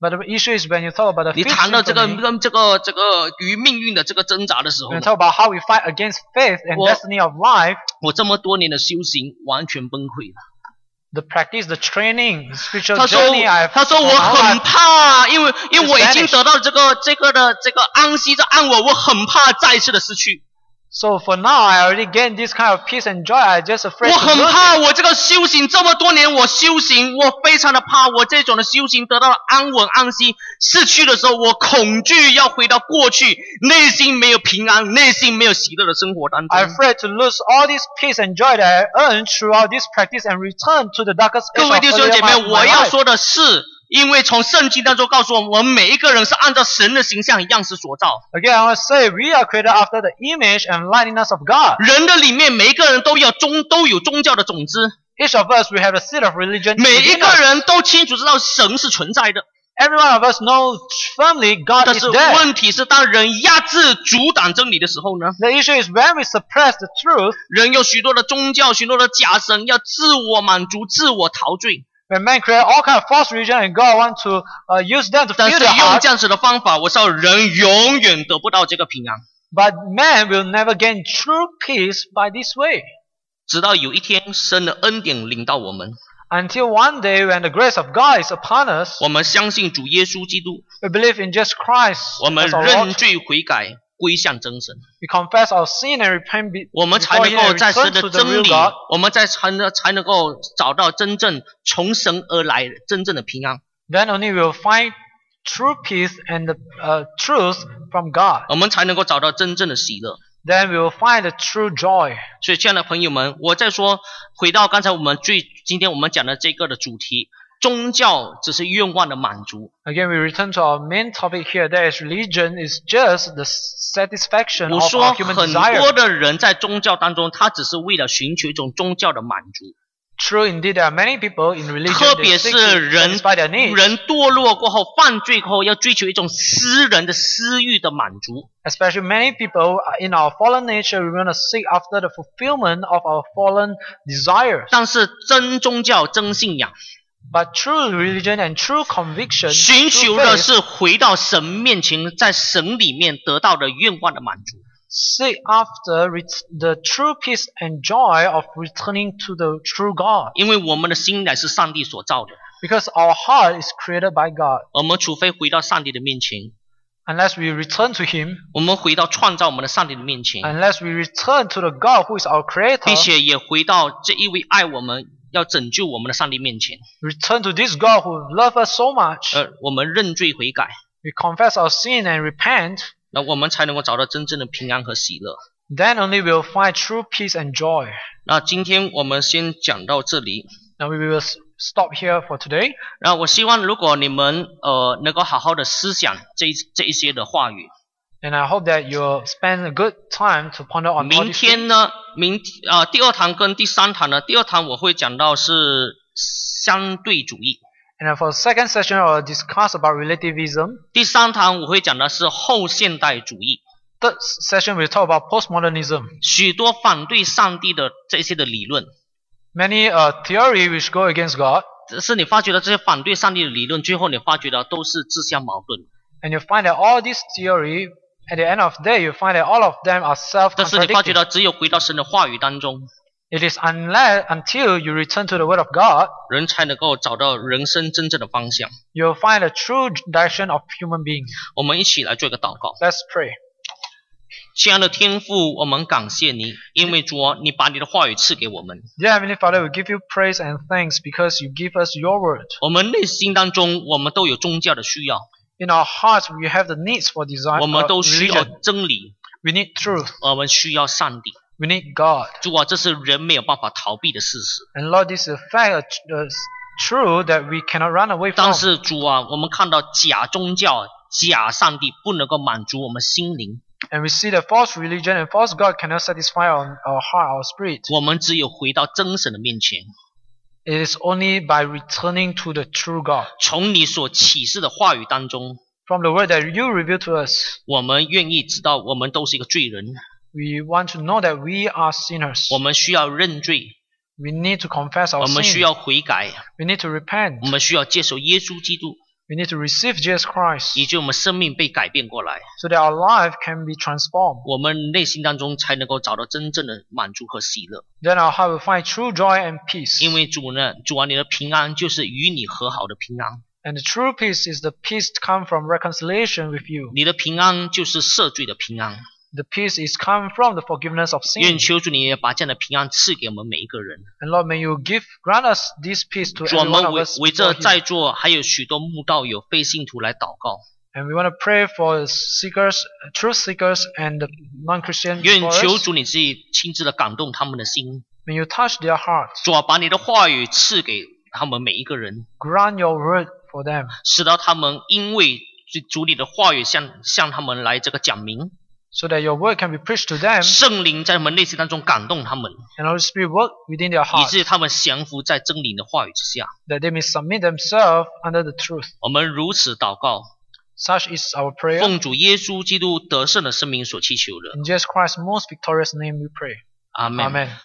But the issue is when you talk about the 你 fifth 谈到这个 symphony, 这个这个与命运的这个挣扎的时候 when you 呢， talk about how we fight against faith and 我- destiny of life, 我这么多年的修行完全崩溃了。 the practice, the training, the spiritual 他说 journey I've 他说 on 我 our 很 life, 怕，因为因为我已经 Spanish 得到这个这个的这个安息这安稳，我很怕再一次的失去。 So for now, I already gained this kind of peace and joy. I just afraid 我 to 很 lose it. 怕我这个修行这么多年我修行，我非常的怕我这种的修行得到了安稳安息，失去的时候我恐惧要回到过去，内心没有平安，内心没有喜乐的生活当中。 I'm afraid to lose all this peace and joy that I earned throughout this practice and return to the darkest 各 age 位 of 弟兄 earlier 姐妹， my, 我 my 要 life. 说的是，因为从圣经当中告诉我们，我们每一个人是按照神的形象样式所造。 Again, I want to say we are created after the image and likeness of God. 人的里面每一个人都有宗都有宗教的种子， Each of us, we have a seed of religion 每一 within 个 us. 人都清楚知道神是存在的。 Every one of us knows firmly God 但 is 是 there. 问题是，当人压制、阻挡真理的时候呢， The issue is when we suppress the truth, 人有许多的宗教、许多的假神，要自我满足、自我陶醉。 when men create all kind of false religion and God wants to uh, use them to 但 fill 是 their 用 heart, 这样子的方法，我知道人永远得不到这个平安。 but man will never gain true peace by this way. 直到有一天，神的恩典临到我们， Until one day when the grace of God is upon us, 我们相信主耶稣基督， we believe in just Christ 我们 as our 认 Lord. 罪悔改，归向真神。 We confess our sin and repent be- 我们才 before 能 Him 够 and 在 return 神的 to the 真 real 理 God. 我们在才能才能够找到真正从神而来真正的平安。 Then only we will find true peace and the uh, truth from God. 我们才能够找到真正的喜乐。 Then we will find the true joy. 所以，亲爱的朋友们，我再说，回到刚才我们最今天我们讲的这个的主题，宗教只是愿望的满足。 Again, we return to our main topic here. That is, religion is just the satisfaction 我 of 说 our human 很 desire. 多的人在宗教当中，他只是为了寻求一种宗教的满足， True indeed, there are many people in 特 religion 别 that seek 是 to 人 satisfy their needs. 人堕落过后、犯罪过后，要追求一种私人的私欲的满足。 Especially many people in our fallen nature, we want to seek after the fulfillment of our fallen desires. 但是真宗教、真信仰， But true religion and true conviction, 寻 true 求的 faith, 是回到神面前，在神里面得到的愿望的满足。 seek after ret- the true peace and joy of returning to the true God. 因为我们的心乃是上帝所造的， Because our heart is created by God. 我们除非回到上帝的面前， Unless we return to Him, 我们回到创造我们的上帝的面前， unless we return to the God who is our 并 Creator, 且也回到这一位爱我们、要拯救我们的上帝面前， return to this God who loves us so much, 而我们认罪悔改， we confess our sin and repent, 那我们才能够找到真正的平安和喜乐。 then only we will find true peace and joy. 那今天我们先讲到这里。 Now we will s- stop here for today. 那我希望如果你们呃能够好好的思想这一这一些的话语， And I hope that you'll spend a good time to ponder on all 明 these 天 things. 呢，明啊、第二堂跟第三堂呢，第二堂我会讲到是相对主义， And then for the second session, I'll discuss about relativism. 第三堂我会讲的是后现代主义， Third session, we'll talk about postmodernism. 许多反对上帝的这些的理论。 Many uh, theory which go against God, 只是你发觉到这些反对上帝的理论，最后你发觉到都是自相矛盾。 and you find that all this theory, at the end of the day, you find that all of them are 但是你发觉 self-contradicting. 到，只有回到神的话语当中， It is unless until you return to the Word of God, 人才能够找到人生真正的方向。 you'll find the true direction of human beings. 我们一起来做一个祷告。 Let's pray. 亲爱的天父，我们感谢你，因为主啊，你把你的话语赐给我们。 Dear Heavenly Father, we give you praise and thanks because you give us your Word. 我们内心当中，我们都有宗教的需要， In our hearts, we have the needs for desire, 我们 uh, 都需要 religion. 真理， We need truth. 我们需要上帝。 We need God. 主啊，这是人没有办法逃避的事实。 And Lord, this is a fact, uh, uh, true that we cannot run away 但 from. 是主啊，我们看到假宗教、假上帝不能够满足我们心灵， And we see that false religion and false God cannot satisfy our, our heart, our spirit. 我们只有回到真神的面前， It is only by returning to the true God. 从你所启示的话语当中， From the word that you reveal to us, 我们愿意知道我们都是一个罪人， we want to know that we are sinners. 我们需要认罪， We need to confess 我 our 们需 sin. 要悔改， We need to repent. 我们需要接受耶稣基督， We need to receive Jesus Christ 以及我们生命被改变过来， so that our life can be transformed. 我们内心当中才能够找到真正的满足和喜乐。 Then our heart will find true joy and peace. 因为主呢，主啊，你的平安就是与你和好的平安， And the true peace is the peace come from reconciliation with you. 你的平安就是赦罪的平安。 The peace is come from the forgiveness of 愿 sin. 求主你也把这样的平安赐给我们每一个人。 And Lord, may you give grant us this peace to 主，我 every 们 one of 为 us. 为 before 这 you. 在座还有许多慕道友、非信徒来祷告。 And we want to pray for seekers, truth seekers, and the non-Christian 愿 before 求 us. 主你自己亲自的感动他们的心。 May you touch their hearts. 主啊，把你的话语赐给他们每一个人， Grant your word for them. 使到他们因为主你的话语向向他们来这个讲明， So that your word can be preached to them. 圣灵在他们内心当中感动他们， And Holy Spirit work within their 以 hearts. 致他们降服在真理的话语之下。 That they may submit themselves under the truth. 我们如此祷告， Such is our prayer. 奉主耶稣基督得胜的生命所祈求的。 In Jesus Christ's most victorious name we pray. 阿门。 Amen.